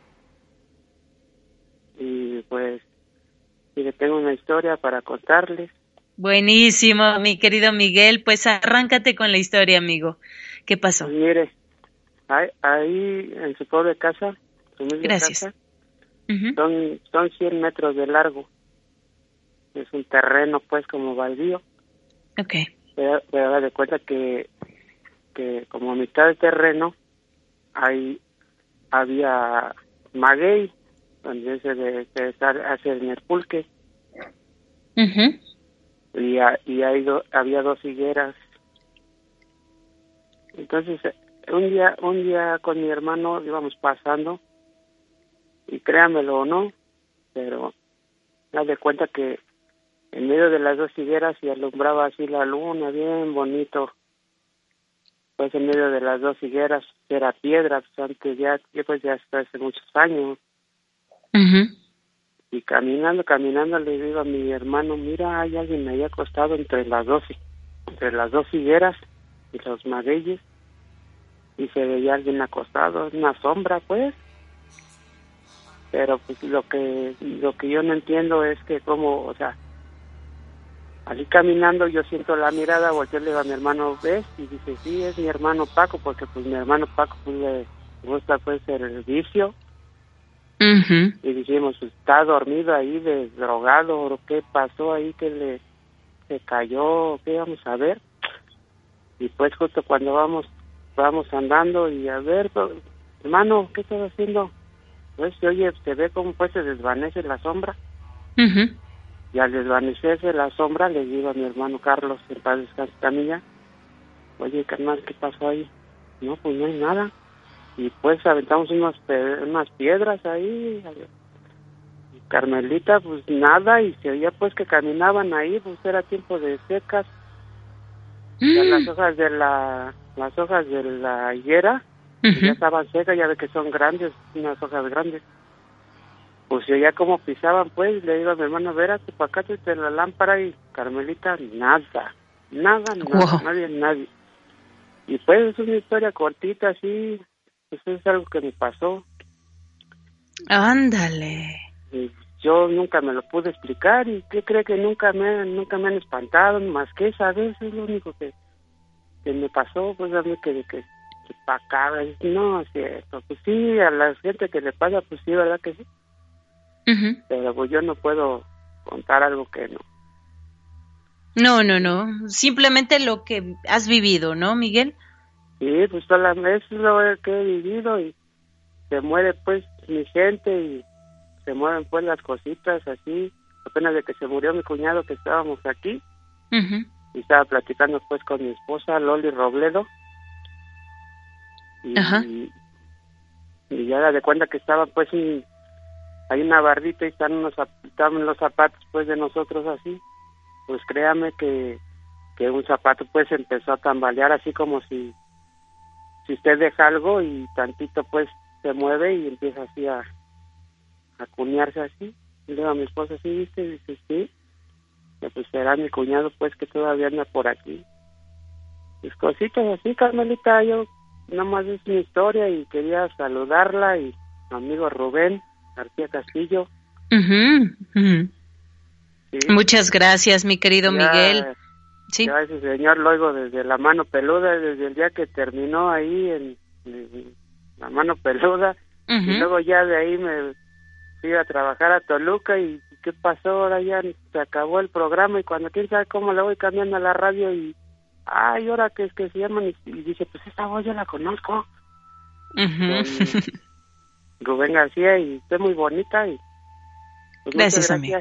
Y pues, y tengo una historia para contarles. Buenísimo, mi querido Miguel. Pues arráncate con la historia, amigo. ¿Qué pasó? Pues mire, ahí, ahí en su pobre casa, su misma Gracias. casa, uh-huh. son, son cien metros de largo. Es un terreno, pues, como baldío. Ok. Pero, pero da de cuenta que, que como a mitad del terreno, ahí había maguey, donde se, de, se hace el pulque. Uh-huh. Y, a, y hay do, había dos higueras. Entonces, un día, un día con mi hermano íbamos pasando, y créanmelo o no, pero da de cuenta que en medio de las dos higueras se alumbraba así la luna, bien bonito. Pues en medio de las dos higueras era piedra, pues antes ya, pues ya hasta hace muchos años. Uh-huh. Y caminando, caminando le digo a mi hermano, mira, hay alguien ahí acostado entre las dos, entre las dos higueras y los magueyes. Y se veía alguien acostado, una sombra, pues. Pero pues lo que, lo que yo no entiendo es que como, o sea, así caminando yo siento la mirada, volteo, le digo a mi hermano, ¿ves? Y dice, sí, es mi hermano Paco, porque pues mi hermano Paco pues le gusta pues el vicio. Uh-huh. Y dijimos, pues, está dormido ahí, de drogado, ¿qué pasó ahí? Que le se cayó, ¿qué vamos a ver? Y pues justo cuando vamos vamos andando y a ver, pues, hermano, ¿qué estás haciendo? Pues oye, se ve como pues se desvanece la sombra. Uh-huh. Y al desvanecerse la sombra le digo a mi hermano Carlos, en paz descanse Camilla, oye, carnal, ¿qué pasó ahí? No, pues no hay nada. Y pues aventamos unas, unas piedras ahí. Y Carmelita, pues nada, y se oía pues que caminaban ahí, pues era tiempo de secas. Mm. Ya las hojas de la, las hojas de la higuera, uh-huh. ya estaban secas, ya ve que son grandes, unas hojas grandes. Pues se oía como pisaban, pues, le digo a mi hermano, verás, para acá te la lámpara, y Carmelita, nada, nada, nada, wow. nadie, nadie. Y pues es una historia cortita, así. Eso es algo que me pasó. Ándale. Y yo nunca me lo pude explicar, y ¿qué cree que nunca me nunca me han espantado, más que esa vez? Es lo único que, que me pasó, pues a mí que, que, que para acá, no es cierto. Pues sí, a la gente que le pasa, pues sí, ¿verdad que sí? Uh-huh. Pero pues yo no puedo contar algo que no. No, no, no. Simplemente lo que has vivido, ¿no, Miguel? Sí, pues solamente es lo que he vivido, y se muere pues mi gente y se mueven pues las cositas así. Apenas de que se murió mi cuñado, que estábamos aquí, uh-huh. y estaba platicando pues con mi esposa Loli Robledo, y, uh-huh. y, y ya da de cuenta que estaba pues un, hay una bardita y están unos estaban los zapatos pues de nosotros así. Pues créame que, que un zapato pues empezó a tambalear así como si si usted deja algo y tantito pues se mueve y empieza así a, a cunearse así. Y le digo a mi esposa, ¿sí viste? Y dice, sí. Y pues será mi cuñado pues que todavía anda por aquí. Pues cositas así, Carmelita, yo nomás es mi historia y quería saludarla, y mi amigo Rubén García Castillo. Uh-huh. Uh-huh. Sí. Muchas gracias, mi querido ya, Miguel. Sí. Ya ese señor lo oigo desde la mano peluda, desde el día que terminó ahí en, en la mano peluda. Uh-huh. Y luego ya de ahí me fui a trabajar a Toluca, y ¿qué pasó? Ahora ya se acabó el programa, y cuando quién sabe cómo le voy cambiando a la radio, y ay, ahora que es que se llaman, y, y dice, pues esta voz yo la conozco. Uh-huh. Rubén García, y está muy bonita, y pues gracias, amigo.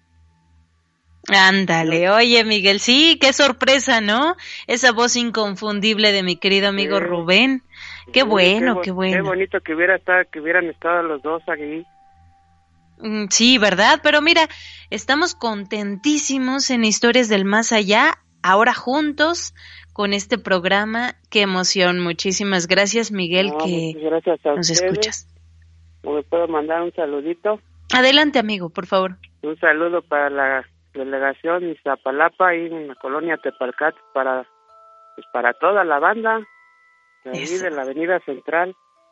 Ándale, oye Miguel, sí, qué sorpresa, ¿no? Esa voz inconfundible de mi querido amigo sí. Rubén. Qué sí, bueno, qué, qué bueno. Qué bonito que hubiera estado, que hubieran estado los dos aquí. Sí, ¿verdad? Pero mira, estamos contentísimos en Historias del Más Allá, ahora juntos con este programa. Qué emoción, muchísimas gracias, Miguel, no, que gracias a nos ustedes. Escuchas. ¿Me puedo mandar un saludito? Adelante, amigo, por favor. Un saludo para la delegación Iztapalapa y en la colonia Tepalcat, para pues para toda la banda de ahí de la Avenida Central,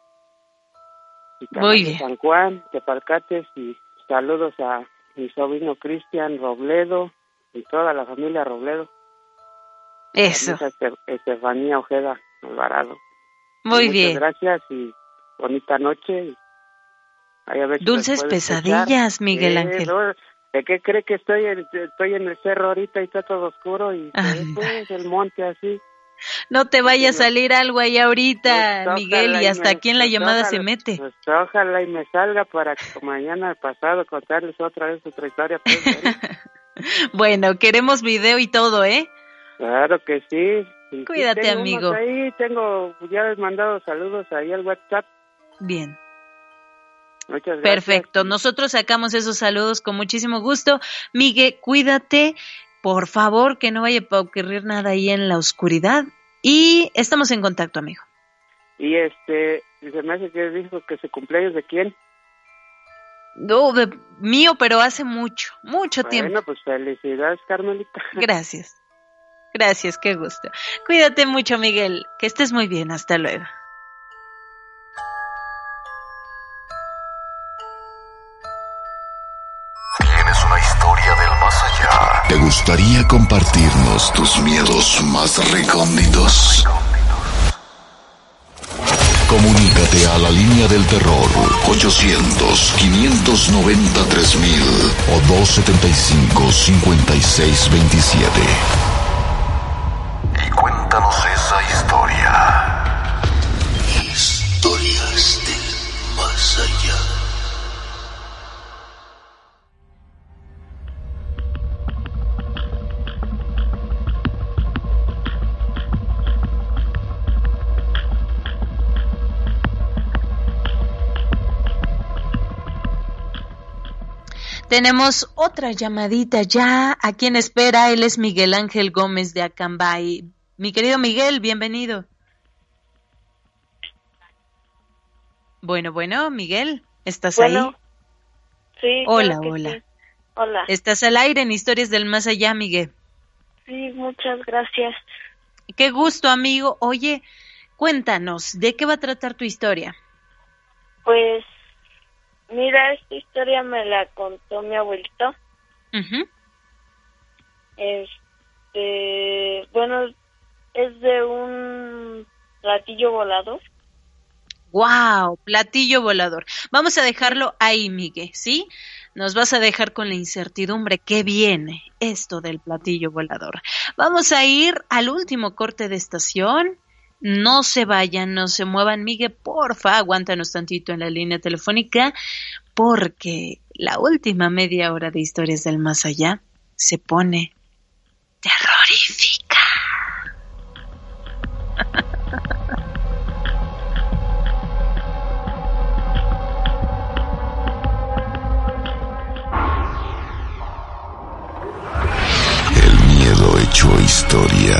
y muy bien, San Juan, Tepalcates, y saludos a mi sobrino Cristian Robledo, y toda la familia Robledo. Eso. Estefanía Ojeda Alvarado. Muy Muchas bien. gracias y bonita noche. Y ahí a ver si Dulces nos puede pesadillas, escuchar. Miguel Eh, Ángel. no, ¿de qué cree que estoy en, estoy en el cerro ahorita y está todo oscuro y se ve, pues, el monte así? No te vaya a salir algo ahí ahorita, Pues, Miguel, y ojalá hasta me- aquí en la pues, llamada ojalá- se mete. pues, ojalá y me salga para que mañana pasado contarles otra vez otra historia. Pues, ahí. Bueno, queremos video y todo, ¿eh? Claro que sí. Y sí Cuídate, tengo amigo. unos ahí, tengo, ya he mandado saludos ahí al WhatsApp. Bien. Muchas gracias. Perfecto, nosotros sacamos esos saludos con muchísimo gusto. Miguel, cuídate, por favor, que no vaya a ocurrir nada ahí en la oscuridad. Y estamos en contacto, amigo. Y este, se me hace que dijo que su cumpleaños de quién. No, de mío, pero hace mucho, mucho tiempo. Bueno, pues felicidades, Carmelita. Gracias. Gracias, qué gusto. Cuídate mucho, Miguel. Que estés muy bien. Hasta luego. ¿Tienes una historia del más allá? ¿Te gustaría compartirnos tus miedos más recónditos? Comunícate a la línea del terror ochocientos, quinientos noventa, tres mil o dos setenta y cinco, cincuenta y seis veintisiete. Y cuéntanos esa historia. Historias del más allá. Tenemos otra llamadita ya. ¿A quién espera? Él es Miguel Ángel Gómez de Acambay. Mi querido Miguel, bienvenido. Bueno, bueno, Miguel, ¿estás Bueno, ahí? Sí. Hola, claro que hola. sí. Hola. Estás al aire en Historias del Más Allá, Miguel. Sí, muchas gracias. Qué gusto, amigo. Oye, cuéntanos, ¿de qué va a tratar tu historia? Pues, mira, esta historia me la contó mi abuelito. Uh-huh. Este, bueno, es de un platillo volador. ¡Wow! Platillo volador. Vamos a dejarlo ahí, Miguel, ¿sí? Nos vas a dejar con la incertidumbre. ¿Qué viene esto del platillo volador? Vamos a ir al último corte de estación. No se vayan, no se muevan, Miguel, porfa, aguántanos tantito en la línea telefónica, porque la última media hora de Historias del Más Allá se pone terrorífica. Miedo hecho historia.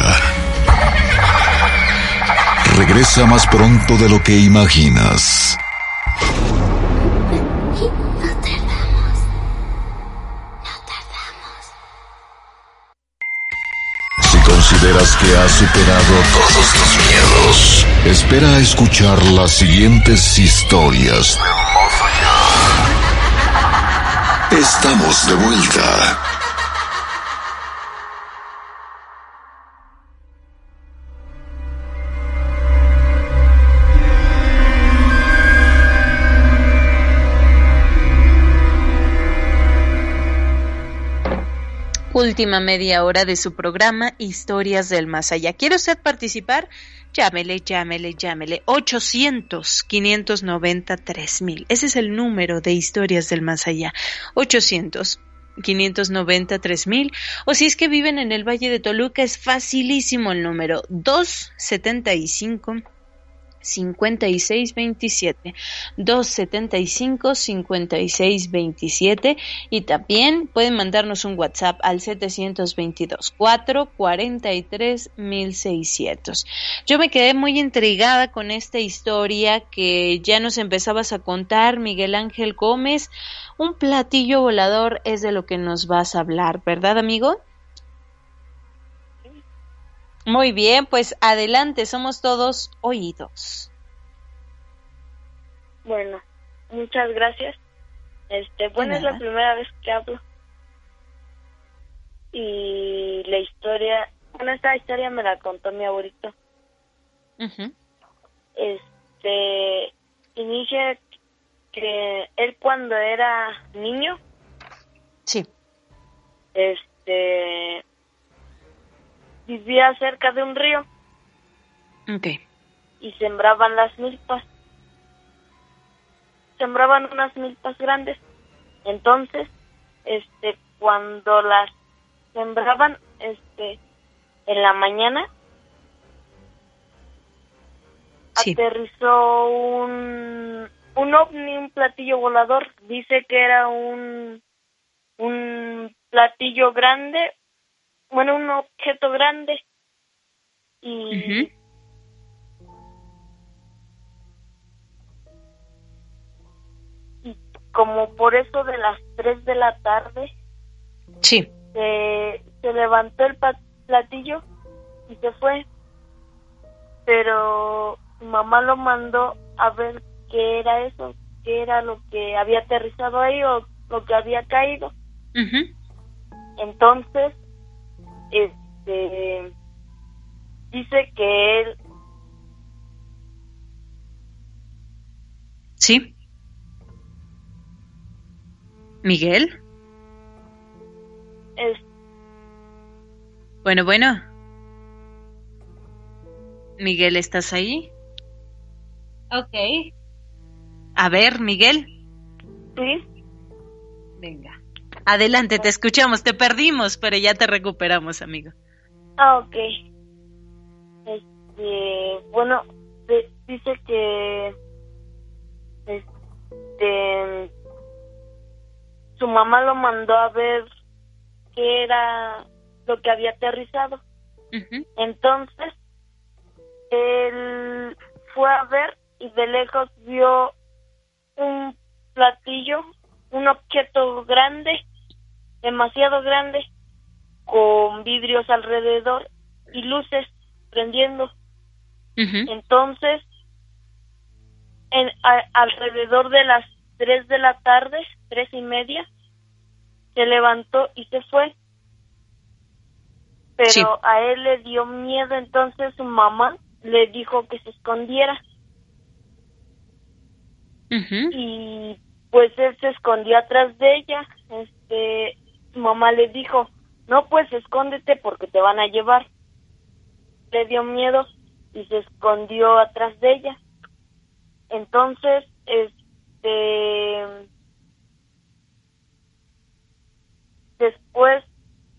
Regresa más pronto de lo que imaginas. No tardamos. No tardamos. Si consideras que has superado todos tus miedos, espera a escuchar las siguientes historias. Estamos de vuelta. Última media hora de su programa Historias del Más Allá. ¿Quiere usted participar? Llámele, llámele, llámele. ochocientos, quinientos noventa, tres mil. Ese es el número de Historias del Más Allá. ochocientos, quinientos noventa, tres mil. O si es que viven en el Valle de Toluca, es facilísimo el número. dos setenta y cinco, cincuenta y seis veintisiete, dos setenta y cinco, cincuenta y seis veintisiete, y también pueden mandarnos un WhatsApp al setecientos veintidós, cuatrocientos cuarenta y tres, mil seiscientos. Yo me quedé muy intrigada con esta historia que ya nos empezabas a contar, Miguel Ángel Gómez. Un platillo volador es de lo que nos vas a hablar, ¿verdad, amigo? Muy bien, pues adelante, somos todos oídos. Bueno, muchas gracias. Este, bueno, es la primera vez que hablo. y la historia, bueno, esta historia me la contó mi abuelito. Uh-huh. Este, inicia que él cuando era niño, sí, este, vivía cerca de un río. Okay. Y sembraban las milpas. Sembraban unas milpas grandes. Entonces, este, cuando las sembraban, este, en la mañana, sí, aterrizó un, un ovni, un platillo volador. Dice que era un, un platillo grande, bueno, un objeto grande. Y uh-huh. como por eso de las tres de la tarde, sí, se, se levantó el platillo y se fue, pero su mamá lo mandó a ver qué era eso, qué era lo que había aterrizado ahí o lo que había caído. Uh-huh. Entonces, este, dice que él, sí. ¿Miguel? Es... Bueno, bueno. Miguel, ¿estás ahí? Ok. A ver, Miguel. Sí. Venga. Adelante, te escuchamos. Te perdimos, pero ya te recuperamos, amigo. Ah, ok. Este, bueno, de, dice que este, su mamá lo mandó a ver qué era lo que había aterrizado. Uh-huh. Entonces, él fue a ver y de lejos vio un platillo, un objeto grande, demasiado grande, con vidrios alrededor y luces prendiendo. Uh-huh. Entonces, en, a, alrededor de las tres de la tarde, tres y media, se levantó y se fue. Pero sí, a él le dio miedo, entonces su mamá le dijo que se escondiera. Uh-huh. Y pues él se escondió atrás de ella. Este, su mamá le dijo, no, pues escóndete porque te van a llevar. Le dio miedo y se escondió atrás de ella. Entonces, este, después,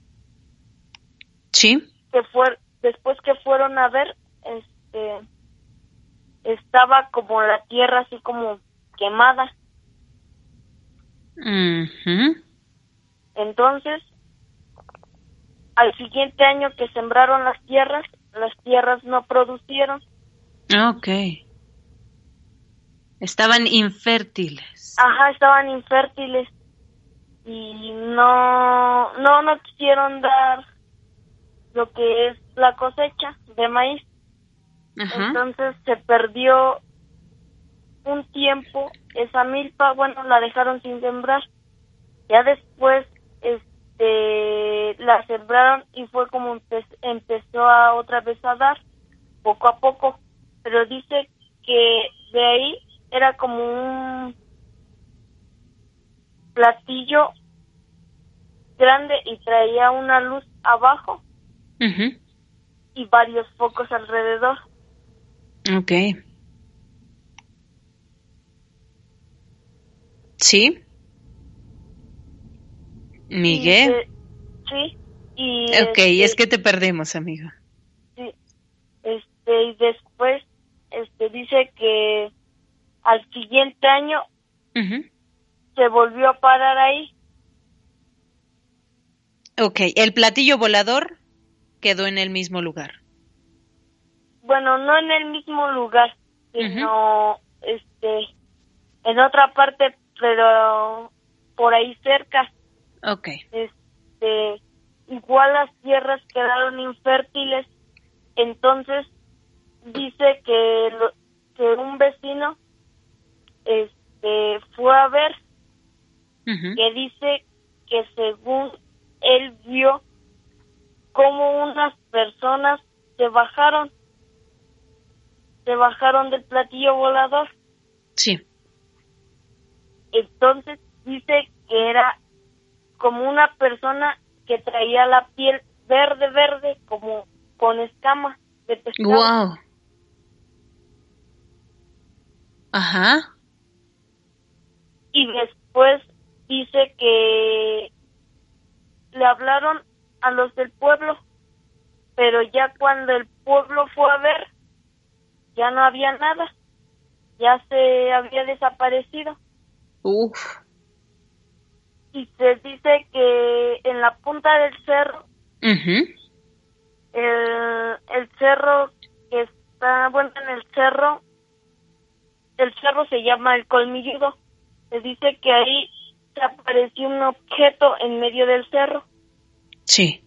sí, que fue, después que fueron a ver, este, estaba como la tierra así como quemada. Uh-huh. Entonces, al siguiente año que sembraron las tierras, las tierras no producieron. Okay. Estaban infértiles. Ajá, estaban infértiles y no, no, no quisieron dar lo que es la cosecha de maíz. Ajá. Entonces se perdió un tiempo esa milpa, bueno, la dejaron sin sembrar. Ya después, este, la sembraron y fue como empe- empezó a otra vez a dar, poco a poco. Pero dice que de ahí era como un platillo grande y traía una luz abajo. Uh-huh. Y varios focos alrededor. Okay. ¿Sí? ¿Miguel? Y de, sí. Y ok, este, es que te perdemos, amigo. Sí. Este, y después, este, dice que al siguiente año uh-huh. se volvió a parar ahí. Ok, el platillo volador quedó en el mismo lugar. Bueno, no en el mismo lugar, sino uh-huh. este, en otra parte, pero por ahí cerca. Okay. Este, igual las tierras quedaron infértiles, entonces dice que lo, que un vecino este fue a ver, uh-huh. que dice que según él vio cómo unas personas se bajaron, se bajaron del platillo volador. Sí. Entonces dice que era como una persona que traía la piel verde, verde, como con escamas de pescado. Wow. Ajá. Y después dice que le hablaron a los del pueblo, pero ya cuando el pueblo fue a ver, ya no había nada, ya se había desaparecido. Uf. Y se dice que en la punta del cerro, uh-huh. el, el cerro que está, bueno, en el cerro, el cerro se llama El Colmilludo. Se dice que ahí se apareció un objeto en medio del cerro. Sí.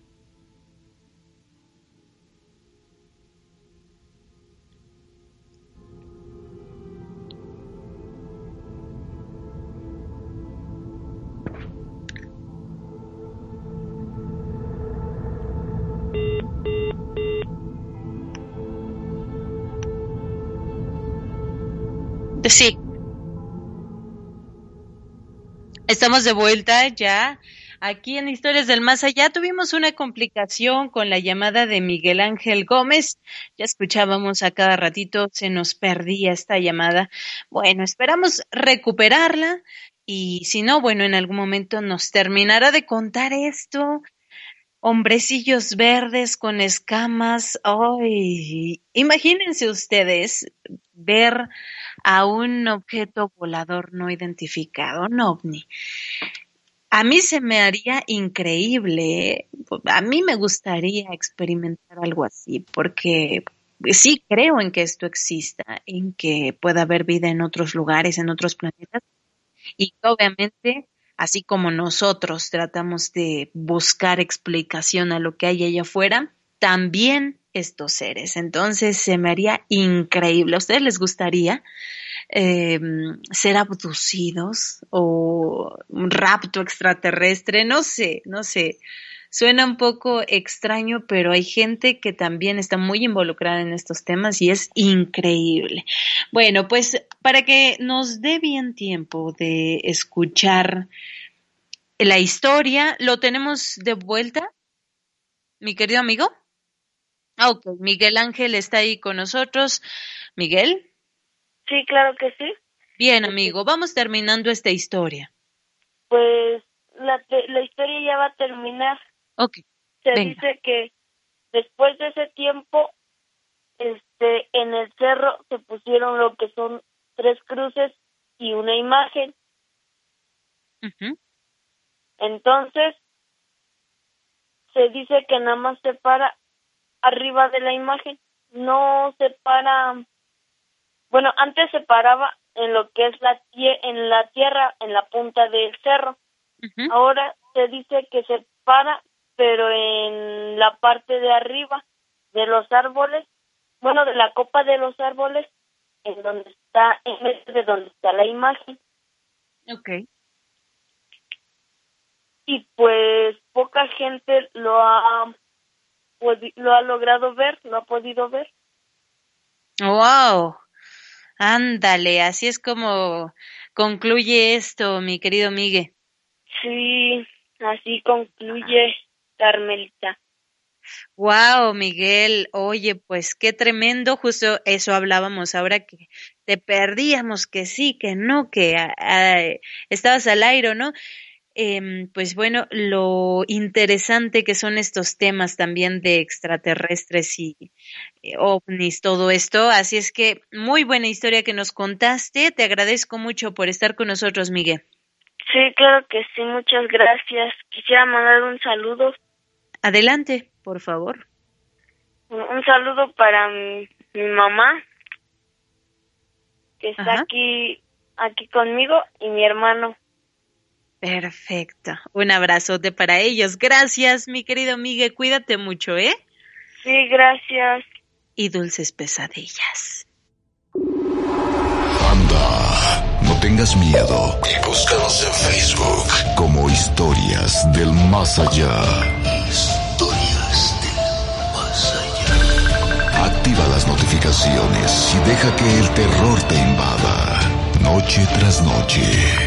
Sí. Estamos de vuelta ya aquí en Historias del Más Allá. Tuvimos una complicación con la llamada de Miguel Ángel Gómez. Ya escuchábamos a cada ratito, se nos perdía esta llamada. Bueno, esperamos recuperarla y si no, bueno, en algún momento nos terminará de contar esto. Hombrecillos verdes con escamas. Ay, imagínense ustedes ver a un objeto volador no identificado, un ovni. A mí se me haría increíble, ¿eh? A mí me gustaría experimentar algo así, porque sí creo en que esto exista, en que pueda haber vida en otros lugares, en otros planetas, y obviamente, así como nosotros tratamos de buscar explicación a lo que hay allá afuera, también estos seres. Entonces se me haría increíble. ¿A ustedes les gustaría eh, ser abducidos o un rapto extraterrestre? No sé, no sé. Suena un poco extraño, pero hay gente que también está muy involucrada en estos temas y es increíble. Bueno, pues para que nos dé bien tiempo de escuchar la historia, ¿lo tenemos de vuelta, mi querido amigo? Ah, ok, Miguel Ángel está ahí con nosotros. ¿Miguel? Sí, claro que sí. Bien, amigo, vamos terminando esta historia. Pues la, la historia ya va a terminar. Ok, Se venga. dice que después de ese tiempo, este, en el cerro se pusieron lo que son tres cruces y una imagen. Uh-huh. Entonces, se dice que nada más se para arriba de la imagen, no se para, bueno, antes se paraba en lo que es la tie- en la tierra, en la punta del cerro. Uh-huh. Ahora se dice que se para, pero en la parte de arriba de los árboles, bueno, de la copa de los árboles, en donde está, en vez de donde está la imagen. Okay. Y pues poca gente lo ha lo ha logrado ver, lo ha podido ver. Wow, ándale, así es como concluye esto, mi querido Miguel. Sí, así concluye, Carmelita. Wow, Miguel, oye, pues qué tremendo, justo eso hablábamos ahora que te perdíamos, que sí, que no, que a, a, estabas al aire, ¿no? Eh, pues bueno, lo interesante que son estos temas también de extraterrestres y eh, ovnis, todo esto. Así es que muy buena historia que nos contaste. Te agradezco mucho por estar con nosotros, Miguel. Sí, claro que sí, muchas gracias. Quisiera mandar un saludo. Adelante, por favor. Un, un saludo para mi, mi mamá, que está Ajá. aquí aquí conmigo, y mi hermano. Perfecto. Un abrazote para ellos. Gracias, mi querido Miguel. Cuídate mucho, ¿eh? Sí, gracias. Y dulces pesadillas. Anda, no tengas miedo. Y búscanos en Facebook como Historias del Más Allá. Historias del notificaciones y deja que el terror te invada, noche tras noche.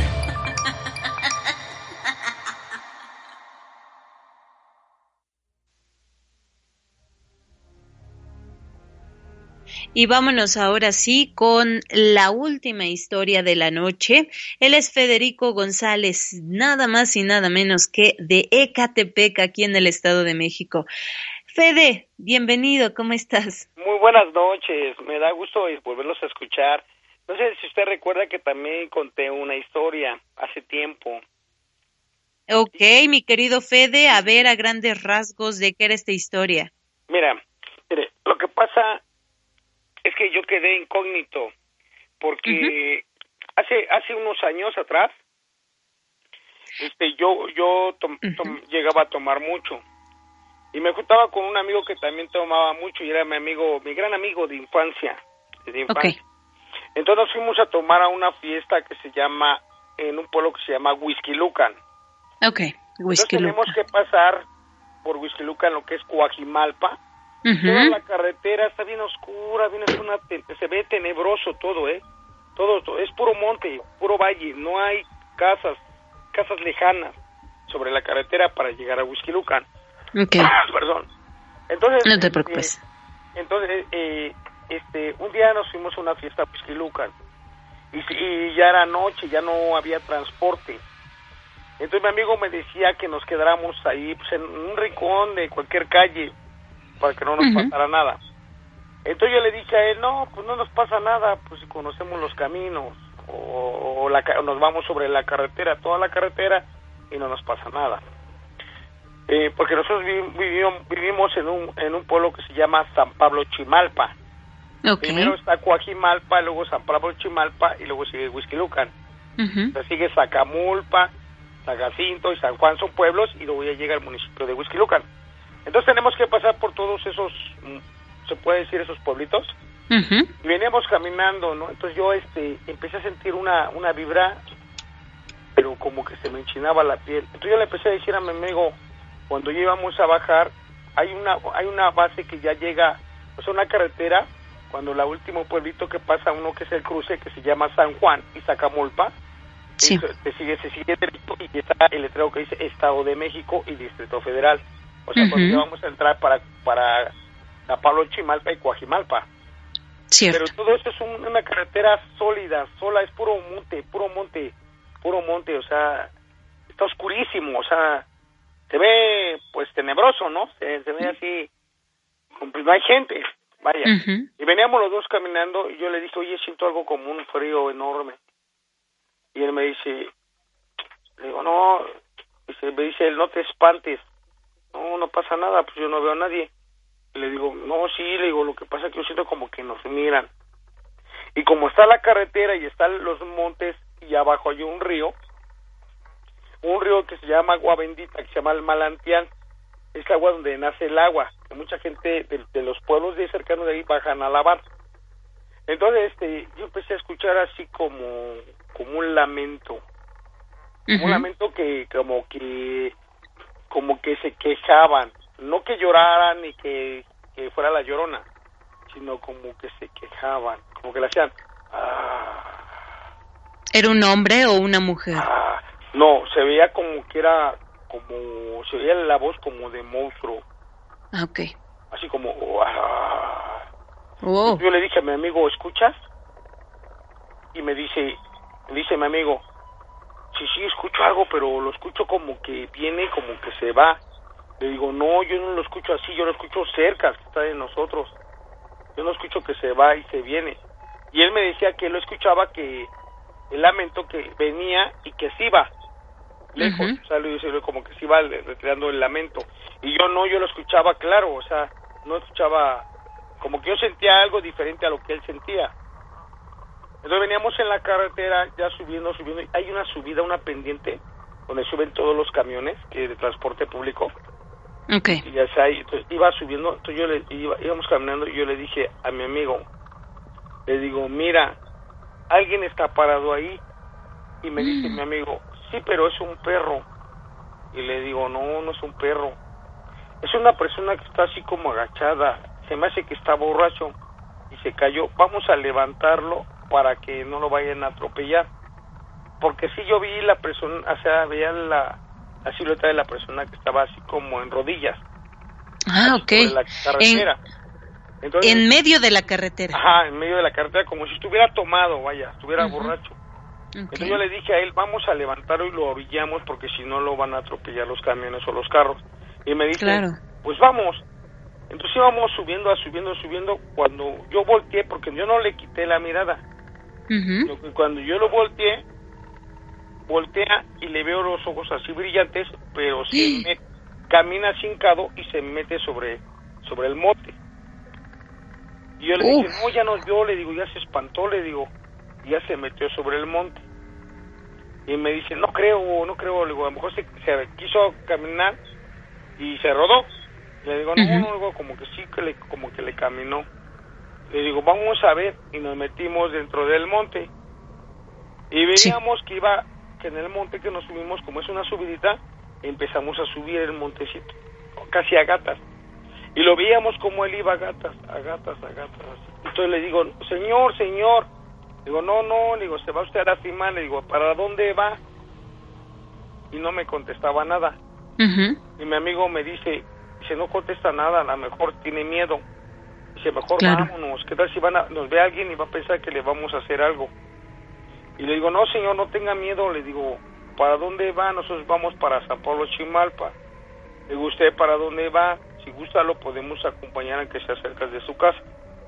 Y vámonos ahora sí con la última historia de la noche. Él es Federico González, nada más y nada menos que de Ecatepec, aquí en el Estado de México. Fede, bienvenido, ¿cómo estás? Muy buenas noches, me da gusto volverlos a escuchar. No sé si usted recuerda que también conté una historia hace tiempo. Ok, mi querido Fede, a ver a grandes rasgos de qué era esta historia. Mira, mire, lo que pasa es que yo quedé incógnito porque uh-huh. hace hace unos años atrás este yo yo tom, tom, uh-huh. llegaba a tomar mucho y me juntaba con un amigo que también tomaba mucho y era mi amigo, mi gran amigo de infancia, de infancia. Okay. Entonces nos fuimos a tomar a una fiesta que se llama, en un pueblo que se llama Huixquilucan. Okay, Huixquilucan. Entonces tenemos que pasar por Huixquilucan, lo que es Coajimalpa. Uh-huh. Toda la carretera está bien oscura, bien es una te- se ve tenebroso todo, eh. Todo, todo es puro monte, puro valle, no hay casas, casas lejanas sobre la carretera para llegar a Huixquilucan. Okay. Perdón. Entonces, no te preocupes. Eh, entonces, eh, este, un día nos fuimos a una fiesta a Huixquilucan y, y ya era noche, ya no había transporte. Entonces mi amigo me decía que nos quedáramos ahí, pues, en un rincón de cualquier calle, para que no nos uh-huh. pasara nada. Entonces yo le dije a él, no, pues no nos pasa nada, pues si conocemos los caminos, o, o, la, o nos vamos sobre la carretera, toda la carretera, y no nos pasa nada. Eh, porque nosotros vivimos, vivimos en un en un pueblo que se llama San Pablo Chimalpa. Okay. Primero está Coajimalpa, luego San Pablo Chimalpa, y luego sigue Huixquilucan. Uh-huh. Entonces sigue Zacamulpa, San Jacinto y San Juan, son pueblos, y luego ya llega el municipio de Huixquilucan. Entonces tenemos que pasar por todos esos, se puede decir, esos pueblitos. Uh-huh. Y veníamos caminando, ¿no? Entonces yo este empecé a sentir una una vibra, pero como que se me enchinaba la piel. Entonces yo le empecé a decir a mi amigo, cuando íbamos a bajar, hay una hay una base que ya llega, o sea, una carretera, cuando la último pueblito que pasa, uno que es el cruce, que se llama San Juan y Zacamulpa, sí. se sigue, se sigue derecho y está el letrero que dice Estado de México y Distrito Federal. O sea, uh-huh. cuando ya vamos a entrar para para San Pablo Chimalpa y Coajimalpa. Cierto. Pero todo eso es un, una carretera sólida, sola, es puro monte, puro monte, puro monte, o sea, está oscurísimo, o sea, se ve pues tenebroso, ¿no? Se, se ve así, pues no hay gente, vaya. Uh-huh. Y veníamos los dos caminando y yo le dije, oye, siento algo como un frío enorme. Y él me dice, le digo, no, dice, me dice él, no te espantes. No, no pasa nada, pues yo no veo a nadie. Y le digo, no, sí, le digo, lo que pasa es que yo siento como que nos miran. Y como está la carretera y están los montes y abajo hay un río, un río que se llama Agua Bendita, que se llama el Manantial, es agua donde nace el agua, que mucha gente de, de los pueblos de cercanos de ahí bajan a lavar. Entonces, este, yo empecé a escuchar así como, como un lamento, como uh-huh. un lamento que, como que... como que se quejaban, no que lloraran ni que, que fuera la llorona, sino como que se quejaban, como que le hacían ah, ¿Era un hombre o una mujer? Ah, no, se veía como que era, como, se veía la voz como de monstruo. Ah, ok. Así como, ah. Oh. Yo le dije a mi amigo, ¿escuchas? Y me dice, me dice mi amigo, sí, sí, escucho algo, pero lo escucho como que viene, como que se va. Le digo, no, yo no lo escucho así, yo lo escucho cerca, que está de nosotros. Yo no escucho que se va y se viene. Y él me decía que él lo escuchaba, que el lamento que venía y que se iba lejos, uh-huh. o sea, le dice como que se iba retirando el lamento. Y yo no, yo lo escuchaba claro, o sea, no escuchaba, como que yo sentía algo diferente a lo que él sentía. Entonces veníamos en la carretera, ya subiendo, subiendo, y hay una subida, una pendiente, donde suben todos los camiones que de transporte público. Okay. Y ya está ahí, entonces iba subiendo, entonces yo le iba, íbamos caminando y yo le dije a mi amigo, le digo, mira, alguien está parado ahí. Y me mm. dice mi amigo, sí, pero es un perro. Y le digo, no, no es un perro. Es una persona que está así como agachada, se me hace que está borracho. y se cayó, vamos a levantarlo para que no lo vayan a atropellar. Porque sí yo vi la persona, o sea, veía la, la silueta de la persona que estaba así como en rodillas. Ah, ok. Sobre la carretera. En, Entonces, en medio de la carretera. Ajá, en medio de la carretera, como si estuviera tomado, vaya, estuviera uh-huh. borracho. Okay. Entonces yo le dije a él, vamos a levantarlo y lo orillamos porque si no lo van a atropellar los camiones o los carros. Y me dice, claro. pues vamos. Entonces íbamos subiendo, a subiendo, subiendo, cuando yo volteé, porque yo no le quité la mirada. Uh-huh. Cuando yo lo volteé, voltea y le veo los ojos así brillantes, pero se me camina hincado y se mete sobre, sobre el monte. Y yo le Uf. dije, no, ya nos vio, le digo, ya se espantó, le digo, ya se metió sobre el monte. Y me dice, no creo, no creo, le digo, a lo mejor se, se quiso caminar y se rodó. Le digo, no, uh-huh. no, no, como que sí, que le, como que le caminó. Le digo, vamos a ver, y nos metimos dentro del monte. Y veíamos sí. que iba, que en el monte que nos subimos, como es una subidita, empezamos a subir el montecito, casi a gatas. Y lo veíamos como él iba a gatas, a gatas, a gatas. Entonces le digo, señor, señor. Digo, no, no, le digo, se va usted a lastimar. Le digo, ¿para dónde va? Y no me contestaba nada. Uh-huh. Y mi amigo me dice, dice, no contesta nada, a lo mejor tiene miedo. Dice, mejor claro. vámonos. ¿Qué tal si van a, nos ve alguien y va a pensar que le vamos a hacer algo? Y le digo, no, señor, no tenga miedo. Le digo, ¿para dónde va? Nosotros vamos para San Pablo Chimalpa. Le digo, ¿usted para dónde va? Si gusta lo podemos acompañar a que se acerque de su casa.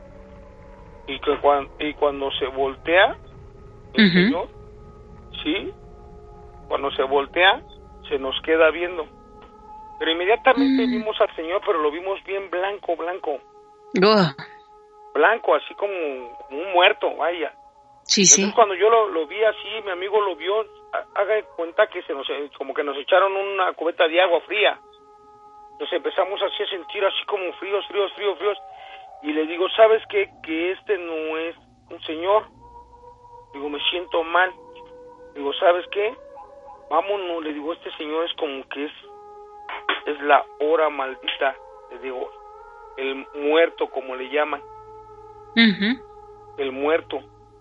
Y que cuando, y cuando se voltea el uh-huh. señor, sí, cuando se voltea se nos queda viendo. Pero inmediatamente uh-huh. vimos al señor, pero lo vimos bien blanco, blanco. Uh. Blanco, así como, como un muerto, vaya. Sí, Entonces, sí. cuando yo lo, lo vi así, mi amigo lo vio, haga de cuenta que se nos, como que nos echaron una cubeta de agua fría. Entonces empezamos así a sentir así como fríos, fríos, fríos, fríos. Y le digo, ¿sabes qué? Que este no es un señor. Digo, me siento mal. Digo, ¿sabes qué? Vámonos. Le digo, este señor es como que es, es la hora maldita. Le digo, el muerto, como le llaman. Uh-huh. El muerto.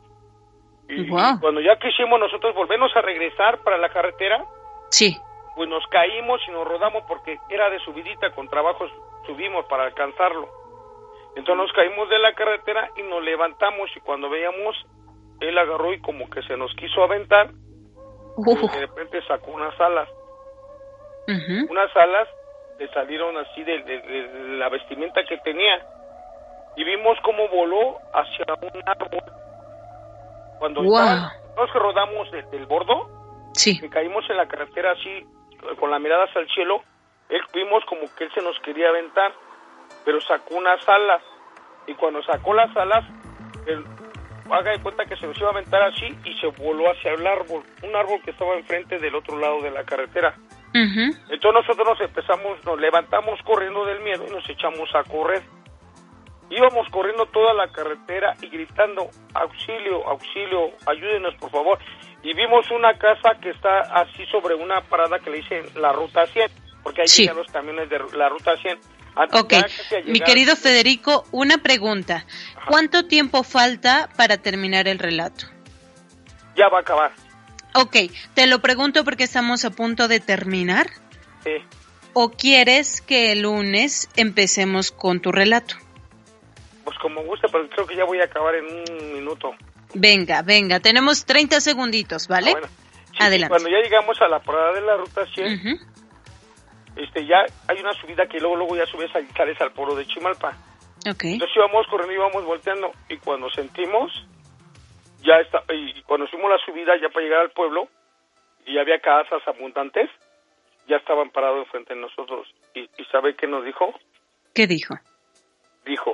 Y, wow. y cuando ya quisimos nosotros volvernos a regresar para la carretera. Sí. Pues nos caímos y nos rodamos porque era de subidita, con trabajos subimos para alcanzarlo. Entonces nos caímos de la carretera y nos levantamos y cuando veíamos, él agarró y como que se nos quiso aventar uh. y de repente sacó unas alas. Uh-huh. Unas alas le salieron así de, de, de la vestimenta que tenía y vimos cómo voló hacia un árbol. Cuando wow. estaban, nos rodamos del, del bordo, sí. que caímos en la carretera así, con la mirada hacia el cielo, él vimos como que él se nos quería aventar, pero sacó unas alas, y cuando sacó las alas, él haga de cuenta que se nos iba a aventar así, y se voló hacia el árbol, un árbol que estaba enfrente del otro lado de la carretera. Uh-huh. Entonces nosotros nos empezamos, nos levantamos corriendo del miedo, y nos echamos a correr. Íbamos corriendo toda la carretera y gritando, auxilio, auxilio, ayúdenos por favor. Y vimos una casa que está así sobre una parada que le dicen la Ruta cien, porque ahí sí. llegan los camiones de la Ruta cien. Antes ok, mi querido Federico, una pregunta. Ajá. ¿Cuánto tiempo falta para terminar el relato? Ya va a acabar. Ok, te lo pregunto porque estamos a punto de terminar. Sí. ¿O quieres que el lunes empecemos con tu relato? Pues como gusta, pero creo que ya voy a acabar en un minuto. Venga, venga, tenemos treinta segunditos, ¿vale? Ah, bueno. Sí, adelante. Cuando ya llegamos a la parada de la Ruta cien, uh-huh. este, ya hay una subida que luego luego ya subes y sales al pueblo de Chimalpa. Okay. Entonces íbamos corriendo, íbamos volteando, y cuando sentimos, ya está, y cuando subimos la subida ya para llegar al pueblo, y había casas abundantes, ya estaban parados enfrente de nosotros. ¿Y, y sabe qué nos dijo? ¿Qué dijo? Dijo,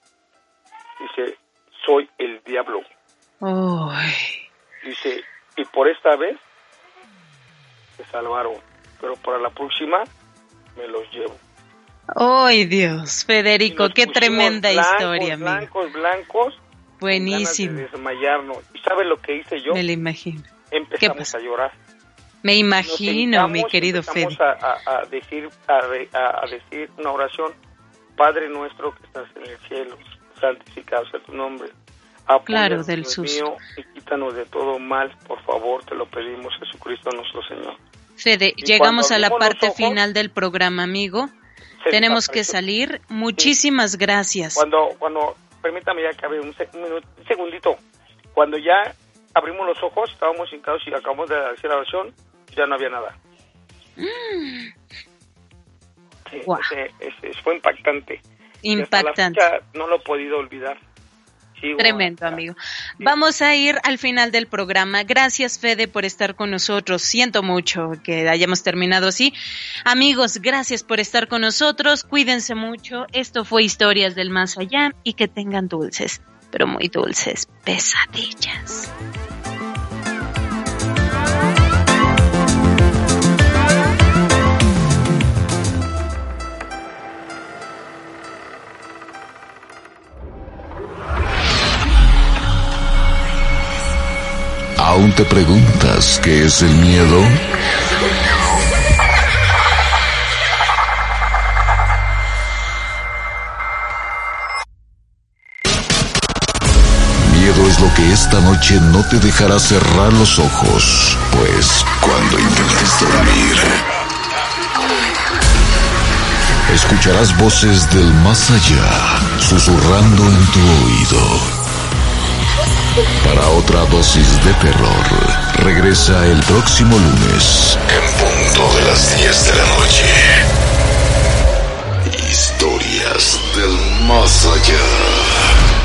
dice, soy el diablo. Oh. Dice, y por esta vez se salvaron, pero para la próxima me los llevo. ¡Ay, Dios! Federico, qué tremenda blancos, historia, amigo. Blancos, blancos. Buenísimo. De desmayarnos. ¿Y sabe lo que hice yo? Me lo imagino. Empezamos a llorar. Me imagino, mi querido Fede. Empezamos a, a, decir, a, a decir una oración. Padre nuestro que estás en el cielo, santificado sea tu nombre. Apóyanos, claro, del Dios susto. mío, y quítanos de todo mal, por favor, te lo pedimos, Jesucristo nuestro Señor. Fede, Y llegamos a la cuando abrimos parte los ojos, final del programa, amigo. se Tenemos pasa que eso. salir. Muchísimas gracias. Cuando, cuando, permítame ya que abre un, seg- un, minuto, un segundito. Cuando ya abrimos los ojos, estábamos hincados y acabamos de hacer la oración, ya no había nada. Mm, Sí, Guau. ese- ese- fue impactante. Y hasta impactante. la fecha no lo he podido olvidar. Sigo Tremendo, hasta- amigo. Vamos a ir al final del programa. Gracias, Fede, por estar con nosotros. Siento mucho que hayamos terminado así. Amigos, gracias por estar con nosotros. Cuídense mucho. Esto fue Historias del Más Allá y que tengan dulces, pero muy dulces pesadillas. ¿Aún te preguntas qué es el miedo? Miedo es lo que esta noche no te dejará cerrar los ojos, pues cuando intentes dormir, escucharás voces del más allá susurrando en tu oído. Para otra dosis de terror, regresa el próximo lunes, en punto de las diez de la noche. Historias del más allá.